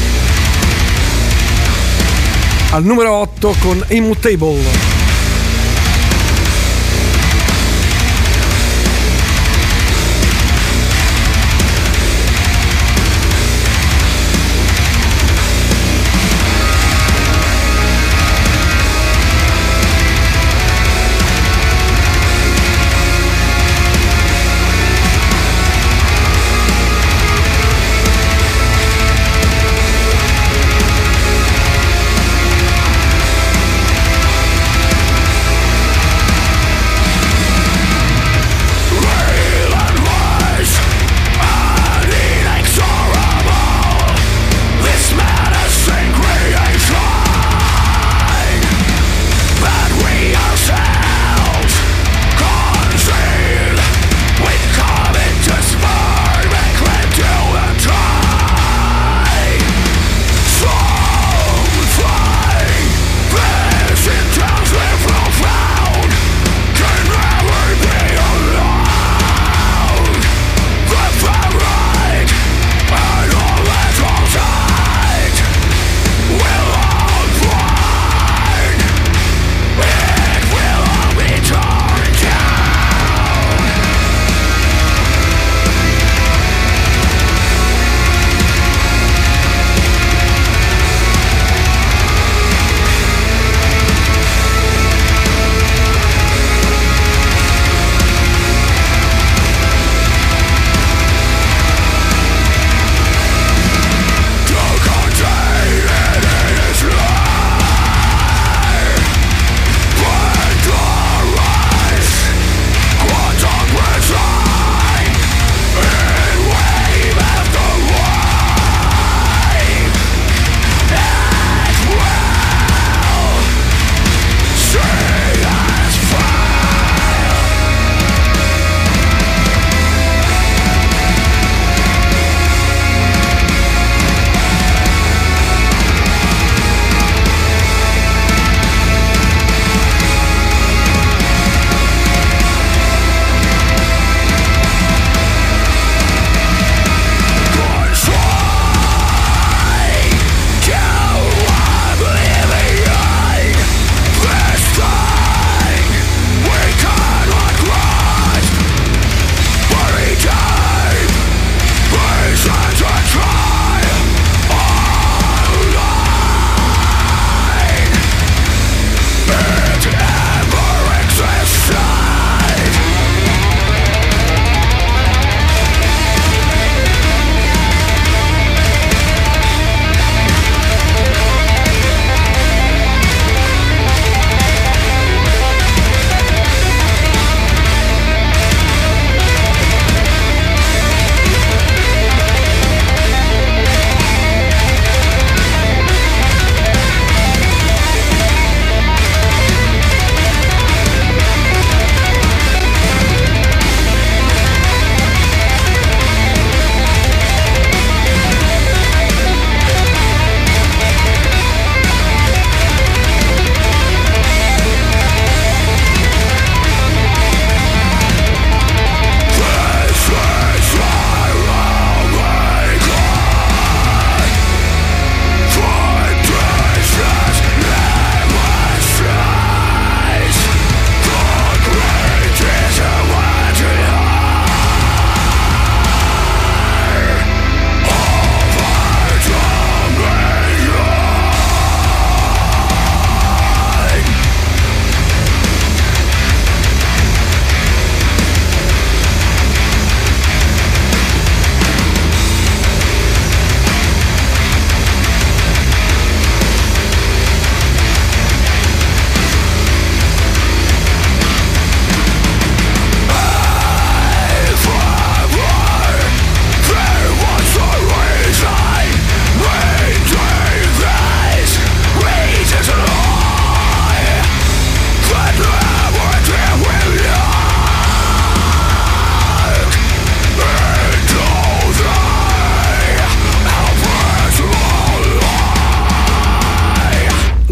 al numero otto con Immutable.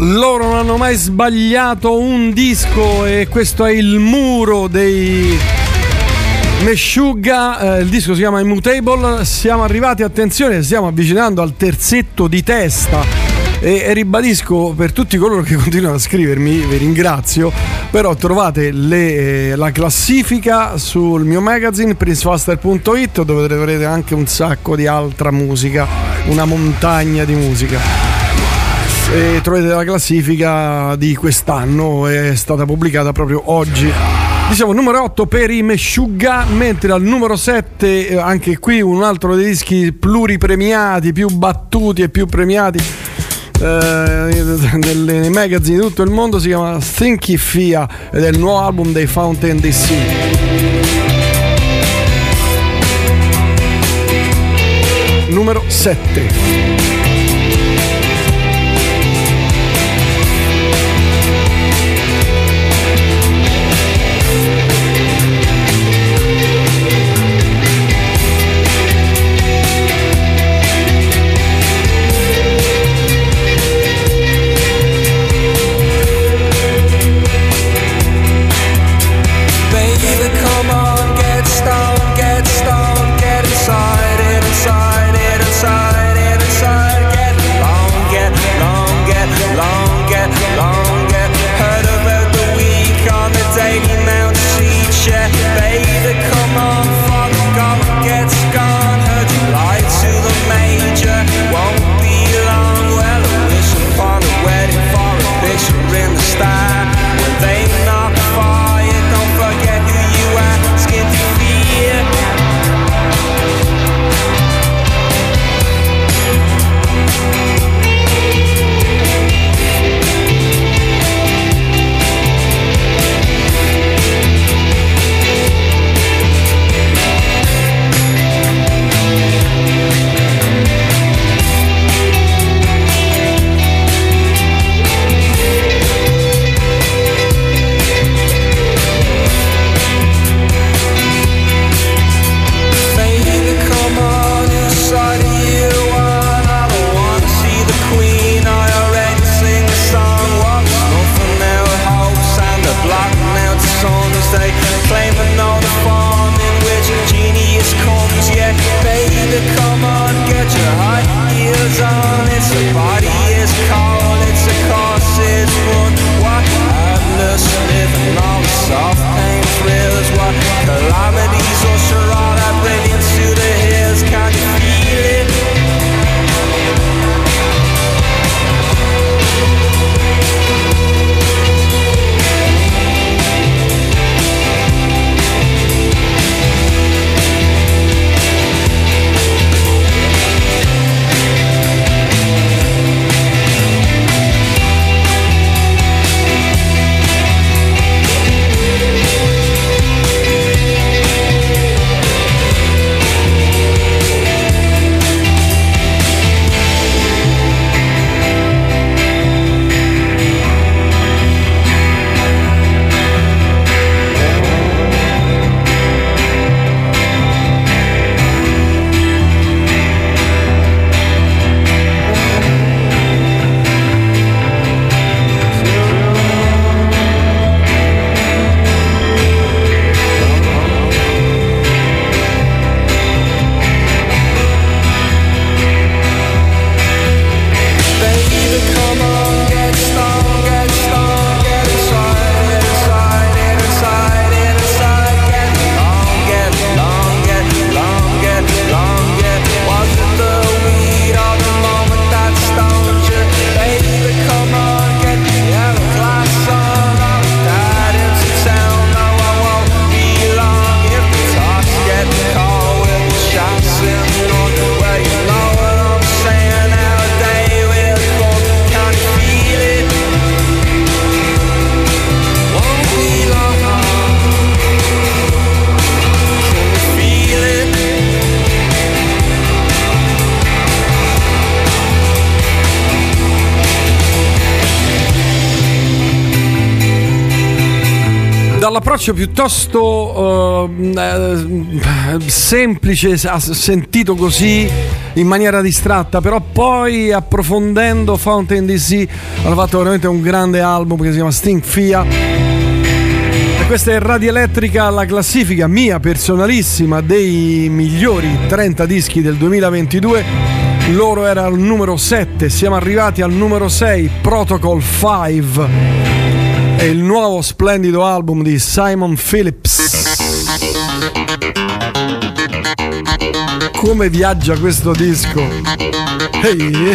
Loro non hanno mai sbagliato un disco e questo è il muro dei Meshuggah, eh, il disco si chiama Immutable. Siamo arrivati, attenzione, stiamo avvicinando al terzetto di testa e, e ribadisco per tutti coloro che continuano a scrivermi, vi ringrazio, però trovate le, eh, la classifica sul mio magazine prince faster punto it, dove troverete anche un sacco di altra musica, una montagna di musica. E trovate la classifica di quest'anno, è stata pubblicata proprio oggi. Diciamo numero otto per i Meshuggah, mentre al numero sette anche qui un altro dei dischi pluripremiati, più battuti e più premiati eh, nei magazine di tutto il mondo, si chiama Thinky Fia ed è il nuovo album dei Fountain D C. Numero sette. Inside, inside, inside, inside. Dall'approccio piuttosto eh, semplice, sentito così in maniera distratta, però poi approfondendo Fountain D C hanno fatto veramente un grande album che si chiama Sting Fia. E questa è Radio Elettrica, la classifica mia personalissima dei migliori trenta dischi del duemilaventidue. Loro era al numero sette, siamo arrivati al numero sei, Protocol cinque. È il nuovo splendido album di Simon Phillips. Come viaggia questo disco? Ehi!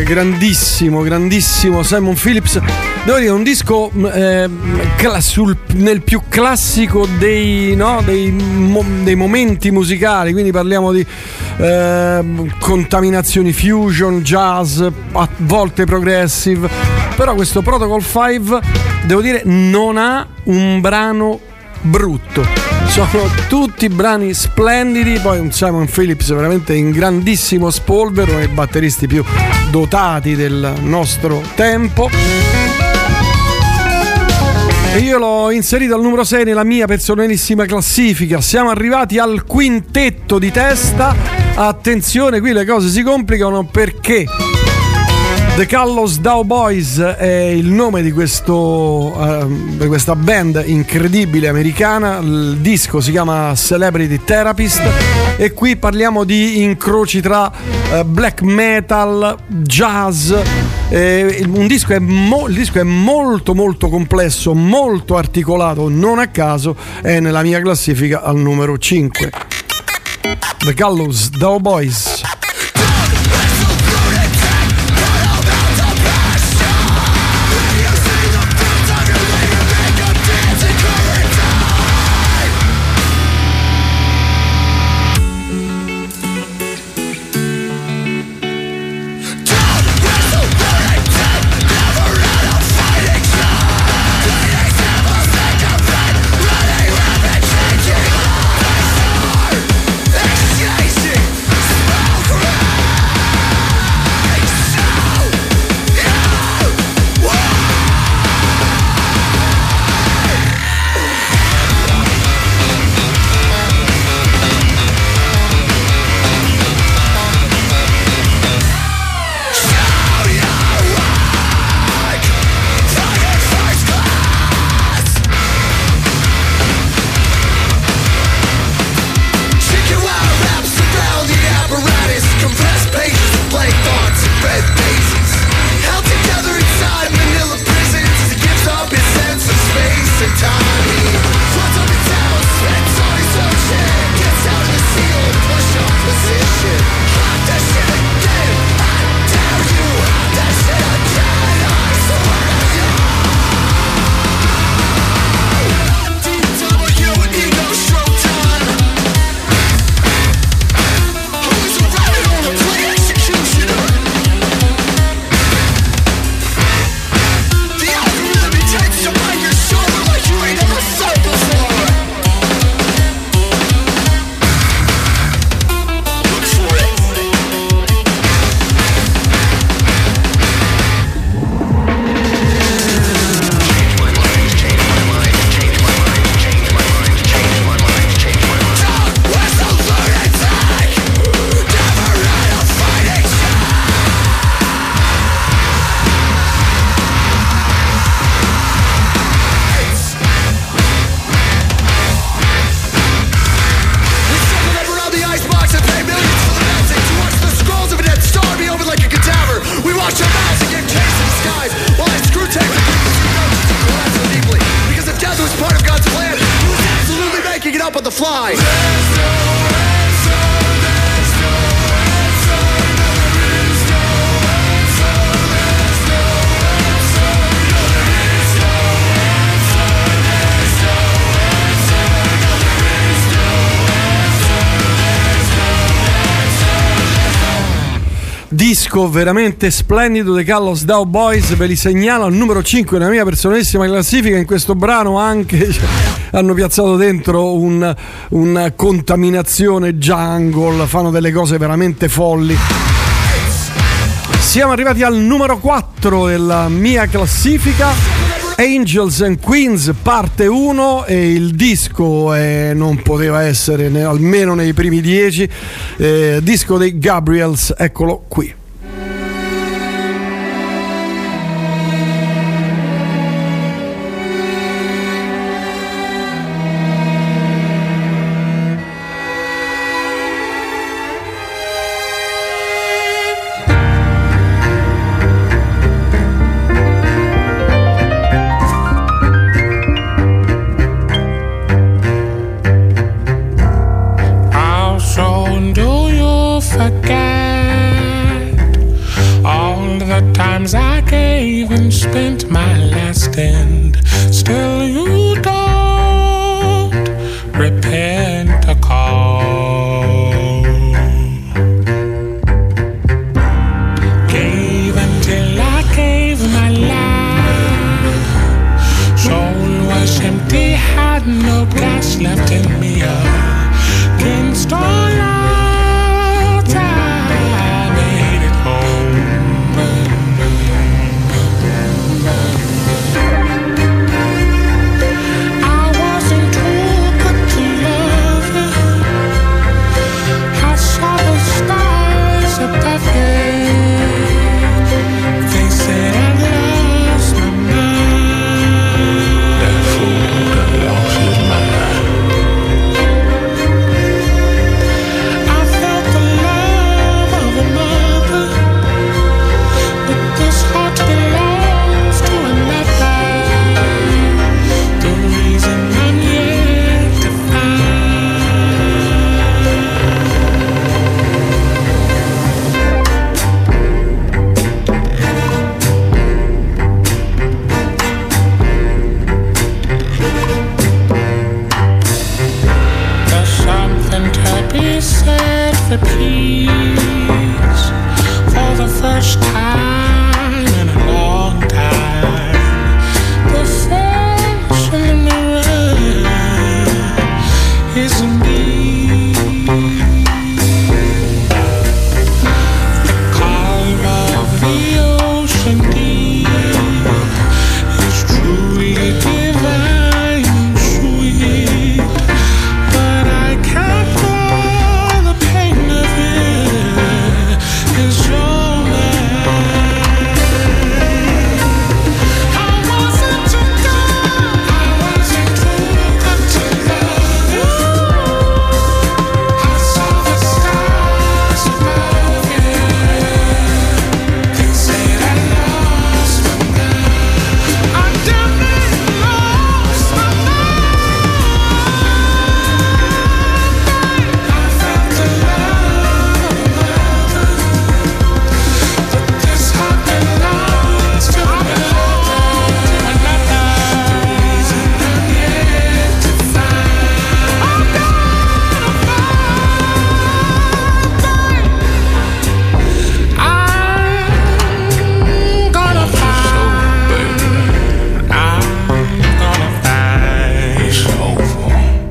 grandissimo, grandissimo Simon Phillips. Devo dire, un disco eh, cla- sul, nel più classico dei, no, dei, mo- dei momenti musicali, quindi parliamo di eh, contaminazioni fusion, jazz, a volte progressive, però questo Protocol cinque, devo dire, non ha un brano brutto, sono tutti brani splendidi. Poi un Simon Phillips veramente in grandissimo spolvero, uno dei batteristi più dotati del nostro tempo, e io l'ho inserito al numero sei nella mia personalissima classifica. Siamo arrivati al quintetto di testa. Attenzione, qui le cose si complicano perché The Gallows Dow Boys è il nome di, questo, uh, di questa band incredibile americana. Il disco si chiama Celebrity Therapist e qui parliamo di incroci tra uh, black metal, jazz. Eh, un disco è mo- il disco è molto molto complesso, molto articolato, non a caso è nella mia classifica al numero cinque. The Gallows Dow Boys. Disco veramente splendido, The Gallows Dow Boys, ve li segnalo al numero cinque nella mia personalissima classifica. In questo brano anche cioè, hanno piazzato dentro un, una contaminazione jungle, fanno delle cose veramente folli. Siamo arrivati al numero quattro della mia classifica, Angels and Queens parte uno, e il disco eh, non poteva essere ne, almeno nei primi dieci, eh, disco dei Gabriels, eccolo qui. Do you forget all the times I gave and spent my last end, still you don't repent a call. Gave until I gave my life, soul was empty, had no gas left in me against all odds. I made it home. I wasn't too good to love you. I saw the stars above you. They said I lost my mind. That fool that lost his mind. I felt the love of a mother, but this heart belongs to another. The reason I'm yet to find. There's something to be said for peace, for the first time in a long time. The face in the mirror is me. The calm of the ocean deep is truly divine and sweet, but I can't bear the pain of it. It's your mind. I wasn't too good, I wasn't too good to love you. I saw the stars above you. They said I lost my mind. I damn near lost my mind. I felt the love of a mother, but this heart belongs to another. The reason I'm yet to find. I'm gonna find. I'm gonna find. I'm gonna find. It's over.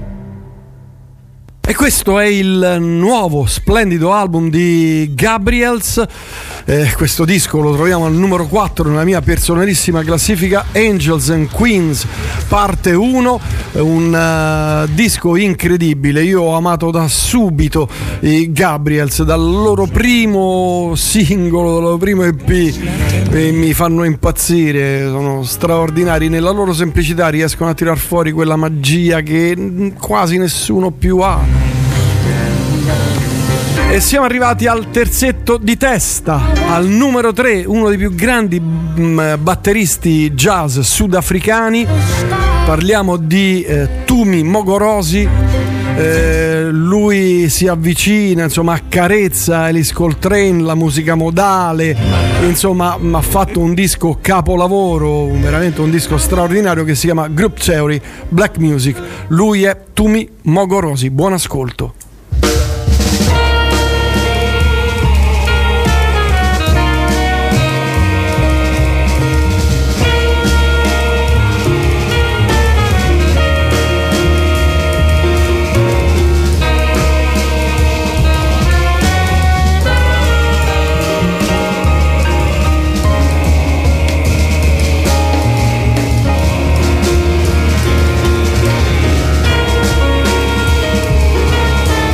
E questo è il nuovo splendido album di Gabriels. Eh, questo disco lo troviamo al numero quattro nella mia personalissima classifica, Angels and Queens parte uno, un uh, disco incredibile. Io ho amato da subito i Gabriels, dal loro primo singolo, dal loro primo E P, e mi fanno impazzire, sono straordinari nella loro semplicità, riescono a tirar fuori quella magia che quasi nessuno più ha. E siamo arrivati al terzetto di testa, al numero tre, uno dei più grandi mh, batteristi jazz sudafricani. Parliamo di eh, Tumi Mogorosi. Eh, lui si avvicina, insomma, accarezza Alice Coltrane, la musica modale, insomma, ha fatto un disco capolavoro, veramente un disco straordinario che si chiama Group Theory Black Music. Lui è Tumi Mogorosi. Buon ascolto. I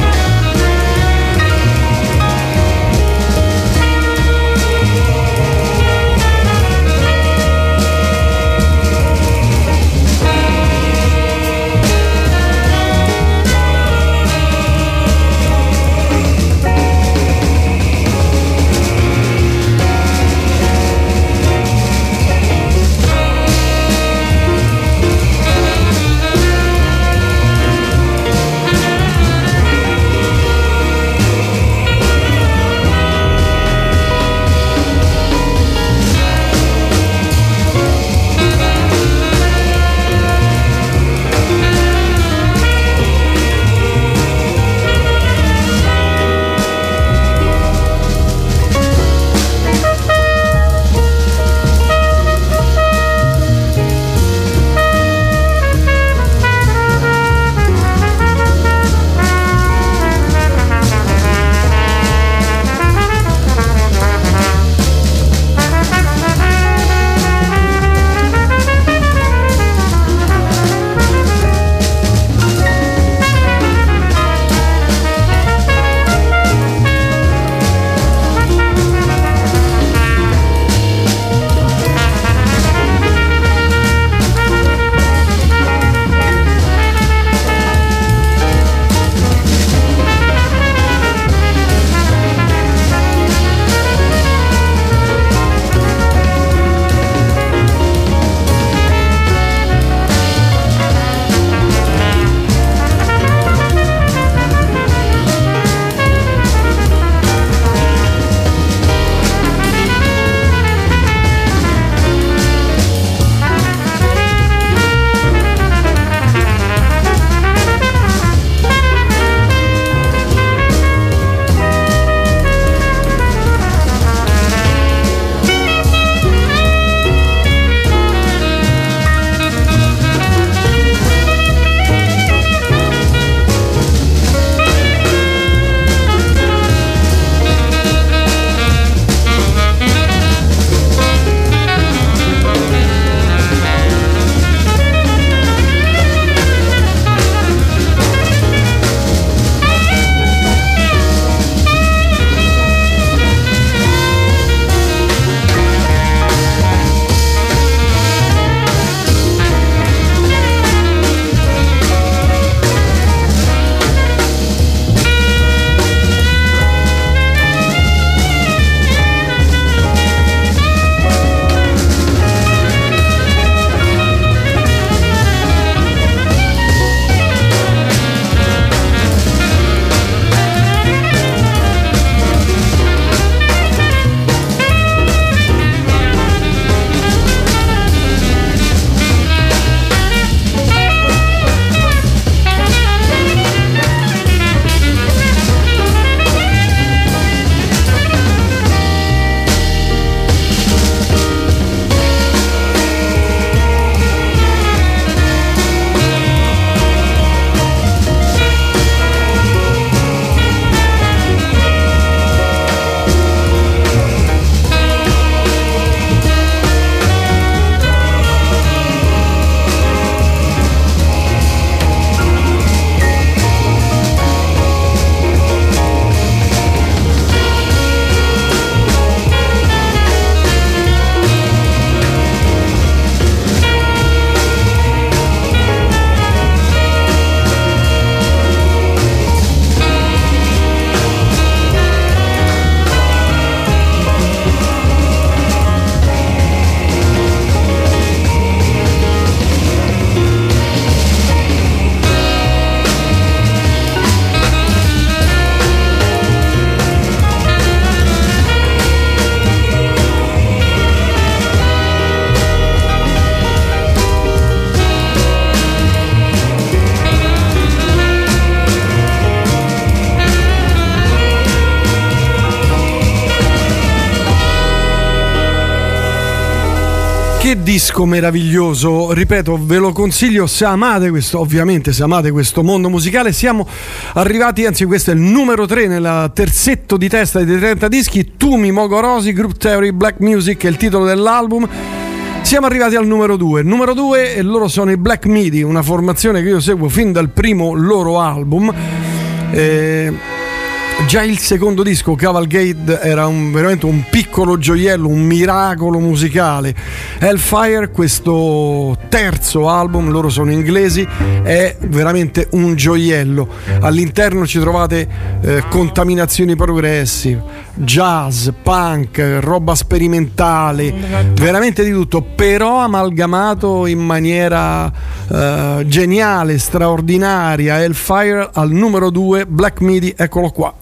Che disco meraviglioso, ripeto, ve lo consiglio se amate questo, ovviamente se amate questo mondo musicale. Siamo arrivati, anzi questo è il numero tre nel terzetto di testa dei trenta dischi. Tumi Mogorosi, Group Theory, Black Music è il titolo dell'album. Siamo arrivati al numero due. Numero due e loro sono i Black Midi, una formazione che io seguo fin dal primo loro album. Eh, Già il secondo disco, Cavalcade, era un, veramente un piccolo gioiello, un miracolo musicale. Hellfire, questo terzo album, loro sono inglesi, è veramente un gioiello. All'interno ci trovate eh, contaminazioni progressive, jazz, punk, roba sperimentale, veramente di tutto, però amalgamato in maniera eh, geniale, straordinaria. Hellfire al numero due, Black Midi, eccolo qua.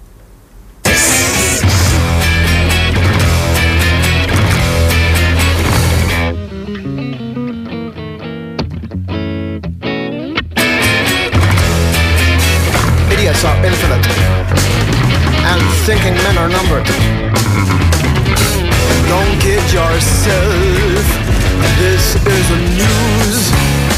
Idiots are infinite, and thinking men are numbered. Don't kid yourself, this is a news.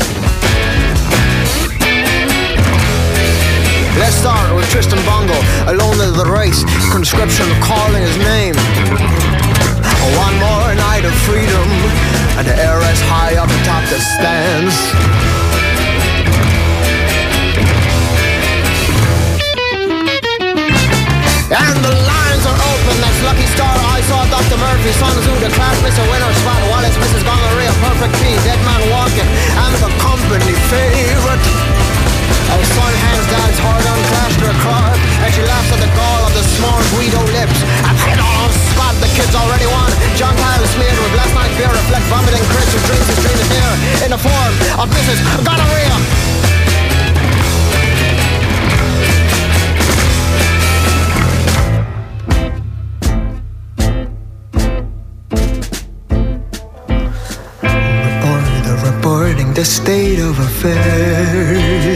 Let's start with Tristan Bongo, alone of the race, conscription calling his name. One more night of freedom, and the air is high up atop the stands. And the lines are open, that's Lucky Star. I saw Doctor Murphy, Sun Tzu, the class Mister Winner, Spot Wallace, Missus Gonorrhea, Perfect P, Dead Man Walking, and the company favorite. Our son hands dad's hard on Clash to a car, and she laughs at the gall of the small Guido lips. And hit on spot, the kids already won. John Kyle smeared with last night's beer, reflect vomiting Chris who drinks his dream of beer in the form of Missus Gonorrhea. The state of affairs.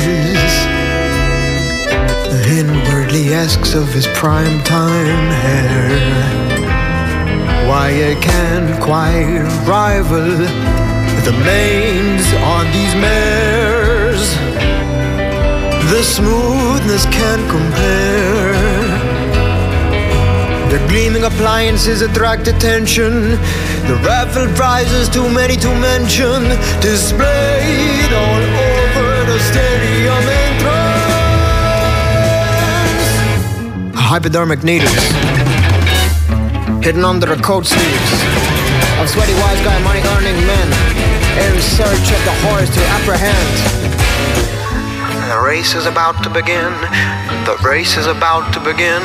Inwardly asks of his prime time hair why it can't quite rival the manes on these mares. The smoothness can't compare. The gleaming appliances attract attention. The raffle prizes, too many to mention, displayed all over the stadium entrance. Hypodermic needles hidden under the coat sleeves of sweaty wise guy money earning men in search of the horse to apprehend. The race is about to begin. The race is about to begin.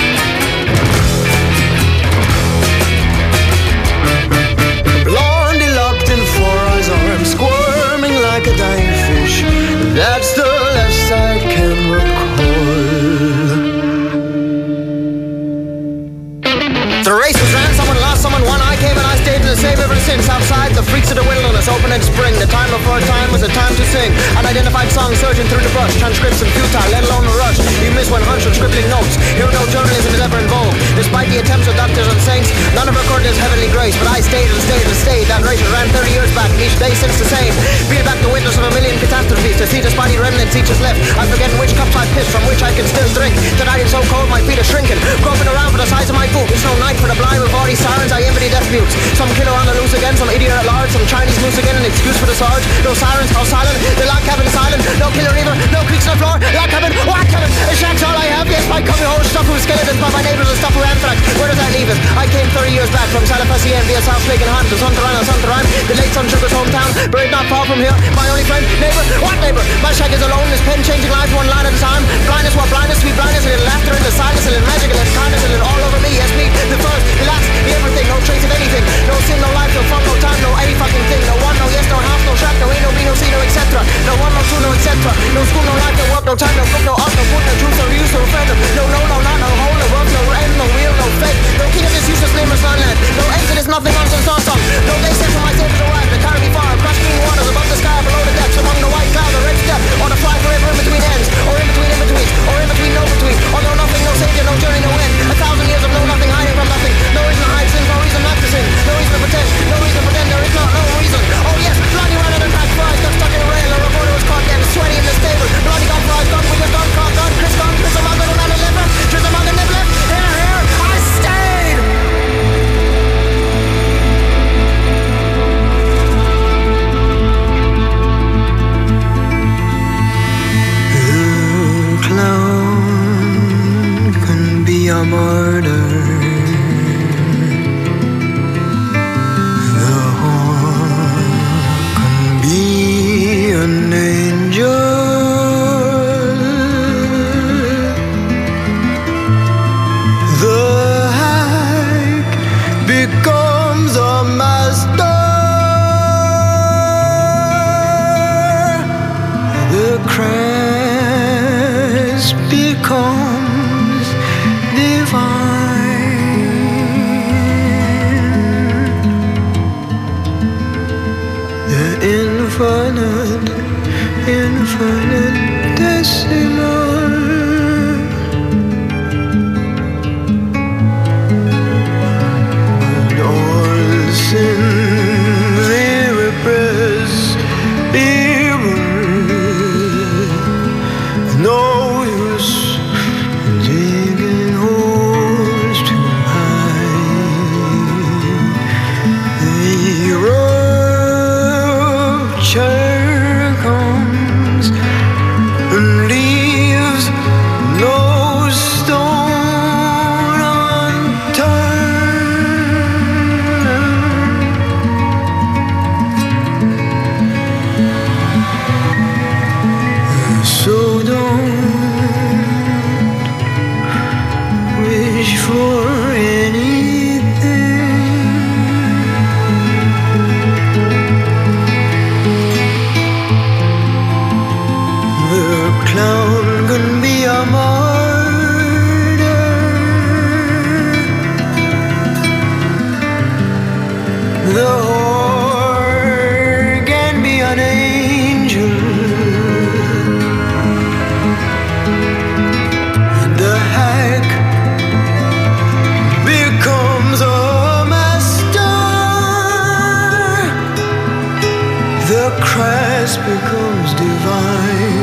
Arms squirming like a dying fish. That's the last I can recall. The race was ran, someone lost, someone won. I came and I stayed in the same ever since. Outside, the freaks of the wilderness open in spring. The time before time was a time to sing. Unidentified songs surging through the brush. Transcription futile, let alone a rush. You miss when hunch and scribbling notes. Here no journalism is ever involved. Despite the attempts of doctors and saints, none have recorded his heavenly grace. But I stayed and stayed and stayed. That race ran thirty years back. Each day since the same. Peel back the windows of a million catastrophes. To see the spotty remnants each is left. I'm forgetting which cups I pissed from which I can still drink. Tonight it's so cold my feet are shrinking. Groping around for the size of my boot. It's no night for the blind with all these sirens. I envy death mutes. Some killer on the loose again. Some idiot at large. Some Chinese moose again. An excuse for the sarge. No sirens. How silent. The log cabin silent. No killer either. No creaks on the floor. Log cabin. What cabin? A shack's all I have. Yes, my cubby hole stuff with skeletons. But my neighbors are stuff with anthrax. Where does that leave us? I came thirty years back from Salafasien via South Lake and Hunt to Sunterine and Sunterine. The late Sun Sugar's hometown. Buried not far from here. My only friend. Neighbor. What neighbor? My shack is alone. His pen changing life one line at a time. Blindness, what blindness? Sweet blindness. A little laughter in the silence. A little magic. A little kindness. A little all over me. Yes, me. The first. The last. The everything. No trace of anything. No sin. No life. No fun. No time. No any fucking thing. No one. No yes. No half. No shack. No ain't. No be. No see. No et cetera. No one. No two. No et cetera. No school. No life. No work. No time. No book. No art. No food. No truth. No use. No friend. No no. No not. No hole. No work. No end. No wheel. No fate. No king of this useless nameless land. No exodus. Nothing. Nonsense. Song song. No they say for my saviors arrive. The carry far. Crush green waters above the sky. Below the depths. Among the white clouds. The red step. Or the fly forever in between ends. Or in between in betweens. Or in between no between. Or no nothing. No savior. No journey. No end. A thousand years of no nothing hiding from nothing. No reason to hide sins. No reason not to sin. No reason to pretend. No reason to pretend. There is not no reason. becomes a master. The Christ becomes divine. The infinite, infinitesimal. And all sins irrepressible. No use digging holes too high. The rupture comes and leaves no stone unturned. So don't wish for anything. The clown can be a martyr. The whore can be an angel. The hack becomes a master. The Christ becomes divine.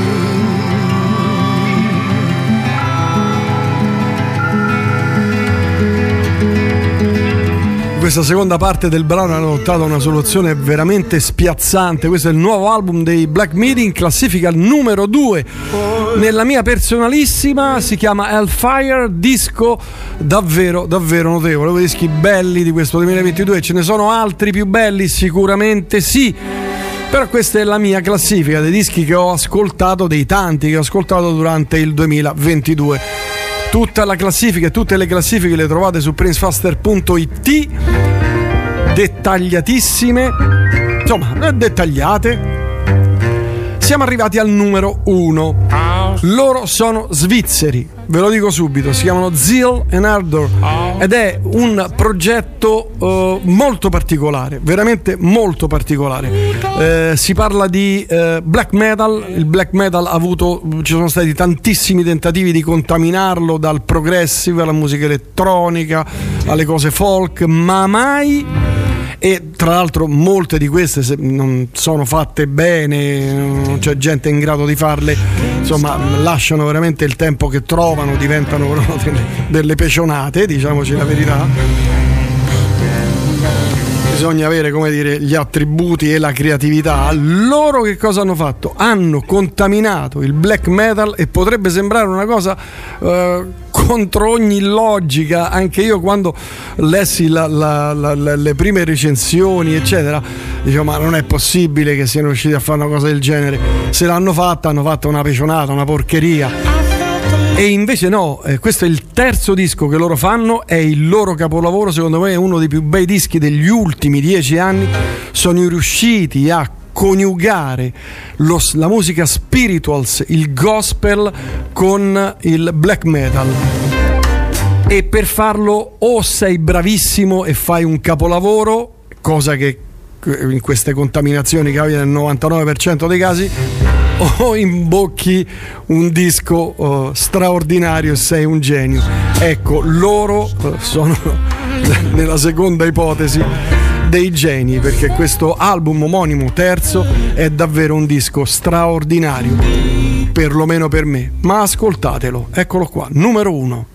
Questa seconda parte del brano hanno adottato una soluzione veramente spiazzante. Questo è il nuovo album dei Black Midi, in classifica numero due. Nella mia personalissima si chiama Hellfire, disco davvero davvero notevole, uno dei dischi belli di questo duemilaventidue. Ce ne sono altri più belli? Sicuramente sì, però questa è la mia classifica dei dischi che ho ascoltato, dei tanti che ho ascoltato durante il duemilaventidue. Tutta la classifica e tutte le classifiche le trovate su prince faster punto it, dettagliatissime, insomma dettagliate. Siamo arrivati al numero uno. Loro sono svizzeri, ve lo dico subito, si chiamano Zeal and Ardor ed è un progetto uh, molto particolare, veramente molto particolare. Eh, si parla di uh, black metal. Il black metal ha avuto, ci sono stati tantissimi tentativi di contaminarlo dal progressive alla musica elettronica alle cose folk, ma mai. E tra l'altro molte di queste, se non sono fatte bene, non c'è gente in grado di farle, insomma lasciano veramente il tempo che trovano, diventano delle, delle pecionate, diciamoci la verità. Bisogna avere, come dire, gli attributi e la creatività. Loro che cosa hanno fatto? Hanno contaminato il black metal e potrebbe sembrare una cosa uh, contro ogni logica. Anche io quando lessi la, la, la, la, le prime recensioni eccetera, dicevo ma non è possibile che siano riusciti a fare una cosa del genere. Se l'hanno fatta, hanno fatto una pecionata, una porcheria. E invece no, eh, questo è il terzo disco che loro fanno, è il loro capolavoro, secondo me è uno dei più bei dischi degli ultimi dieci anni. Sono riusciti a coniugare lo, la musica spirituals, il gospel con il black metal, e per farlo o sei bravissimo e fai un capolavoro, cosa che in queste contaminazioni capita nel novantanove per cento dei casi, o imbocchi un disco uh, straordinario e sei un genio. Ecco, loro uh, sono nella seconda ipotesi dei geni, perché questo album omonimo terzo è davvero un disco straordinario, perlomeno per me. Ma ascoltatelo, eccolo qua, numero uno.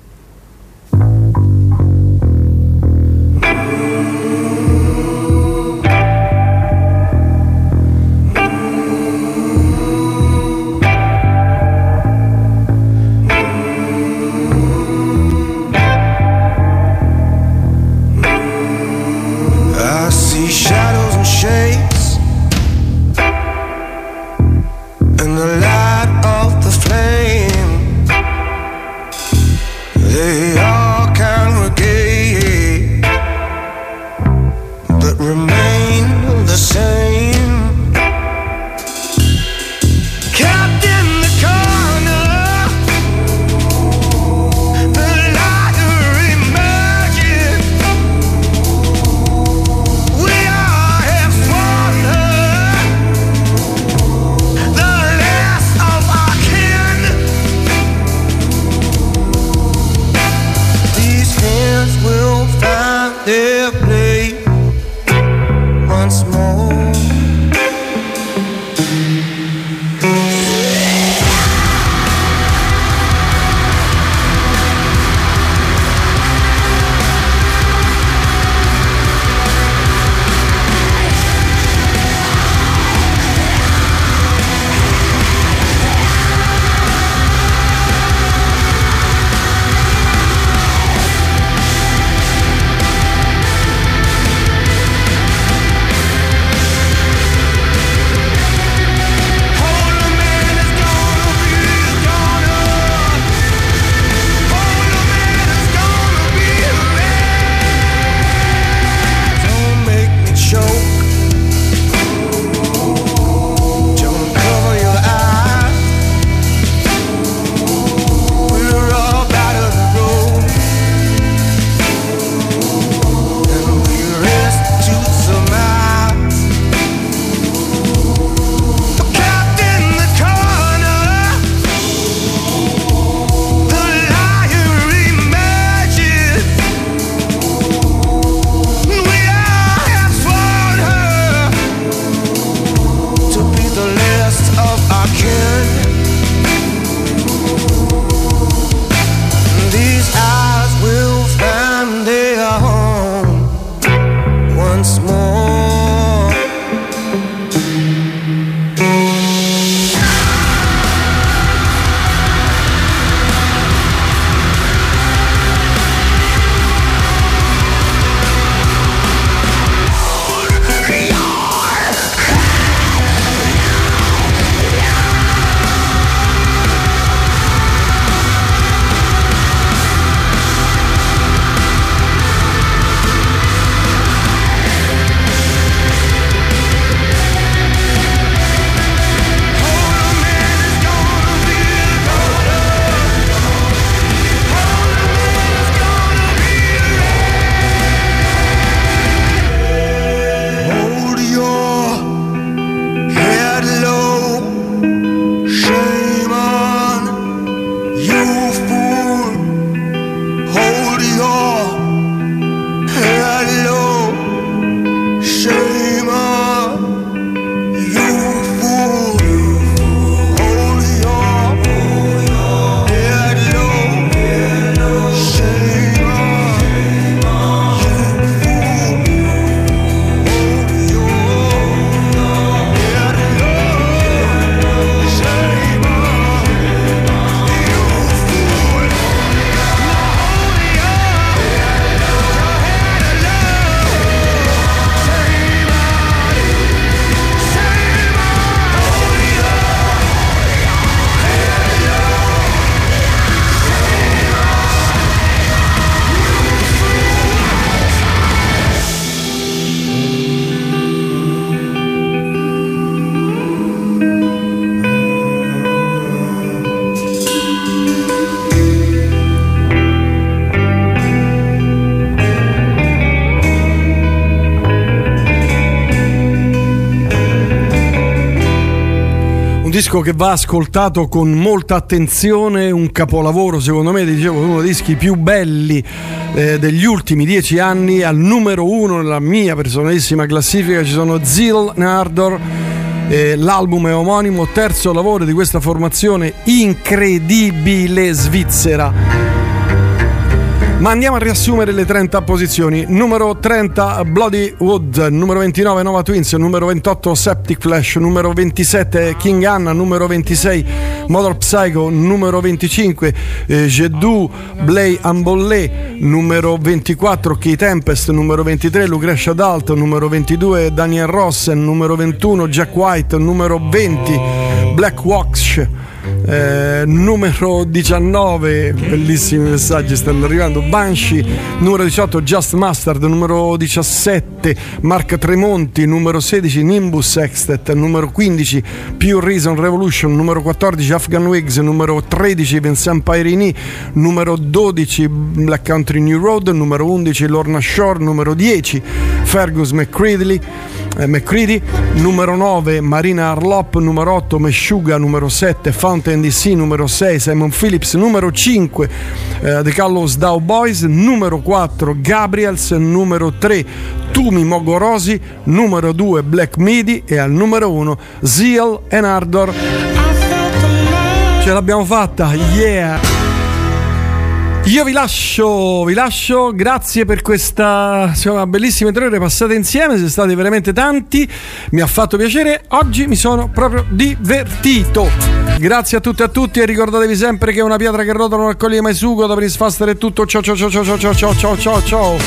Shadows and shapes in the light of the flame, they all congregate remain the same. Kept in the corner, the liar emerging. We all have sworn her, the last of our kin. These hands will find their place once more. disco che va ascoltato con molta attenzione, un capolavoro secondo me, dicevo, uno dei dischi più belli eh, degli ultimi dieci anni. Al numero uno nella mia personalissima classifica ci sono Zeal and Ardor, eh, l'album è omonimo, terzo lavoro di questa formazione incredibile svizzera. Ma andiamo a riassumere le trenta posizioni. Numero trenta Bloody Wood, numero ventinove Nova Twins, numero ventotto Septic Flesh, numero ventisette King Anna, numero ventisei Mother Psycho, numero venticinque eh, Jeddu Blay Ambollé, numero ventiquattro Key Tempest, numero ventitré Lucretia Dalt, numero ventidue Daniel Rossen, numero ventuno Jack White, numero venti Black Wax, eh, numero diciannove, bellissimi messaggi stanno arrivando. Banshee, numero diciotto, Just Mustard, numero diciassette, Mark Tremonti, numero sedici, Nimbus Sextet, numero quindici, Pure Reason Revolution, numero quattordici, Afghan Wigs, numero tredici, Vincent Pairini, numero dodici, Black Country New Road, numero undici, Lorna Shore, numero dieci, Fergus McCready, eh, McCready, numero nove, Marina Harlop, numero otto, Meshuggah, numero sette, Fountain D C, numero sei, Simon Phillips, numero cinque, eh, The Gallows Dow Boys, numero quattro, Gabriels, numero tre, Tumi Mogorosi, numero due, Black Midi e al numero uno, Zeal and Ardor. Ce l'abbiamo fatta, yeah! Io vi lascio, vi lascio, grazie per questa insomma, bellissime tre ore passate insieme, siete stati veramente tanti, mi ha fatto piacere, oggi mi sono proprio divertito. Grazie a tutti e a tutti e ricordatevi sempre che una pietra che rotola non accoglie mai sugo, da Prince Faster è tutto, ciao ciao ciao ciao ciao ciao ciao ciao ciao.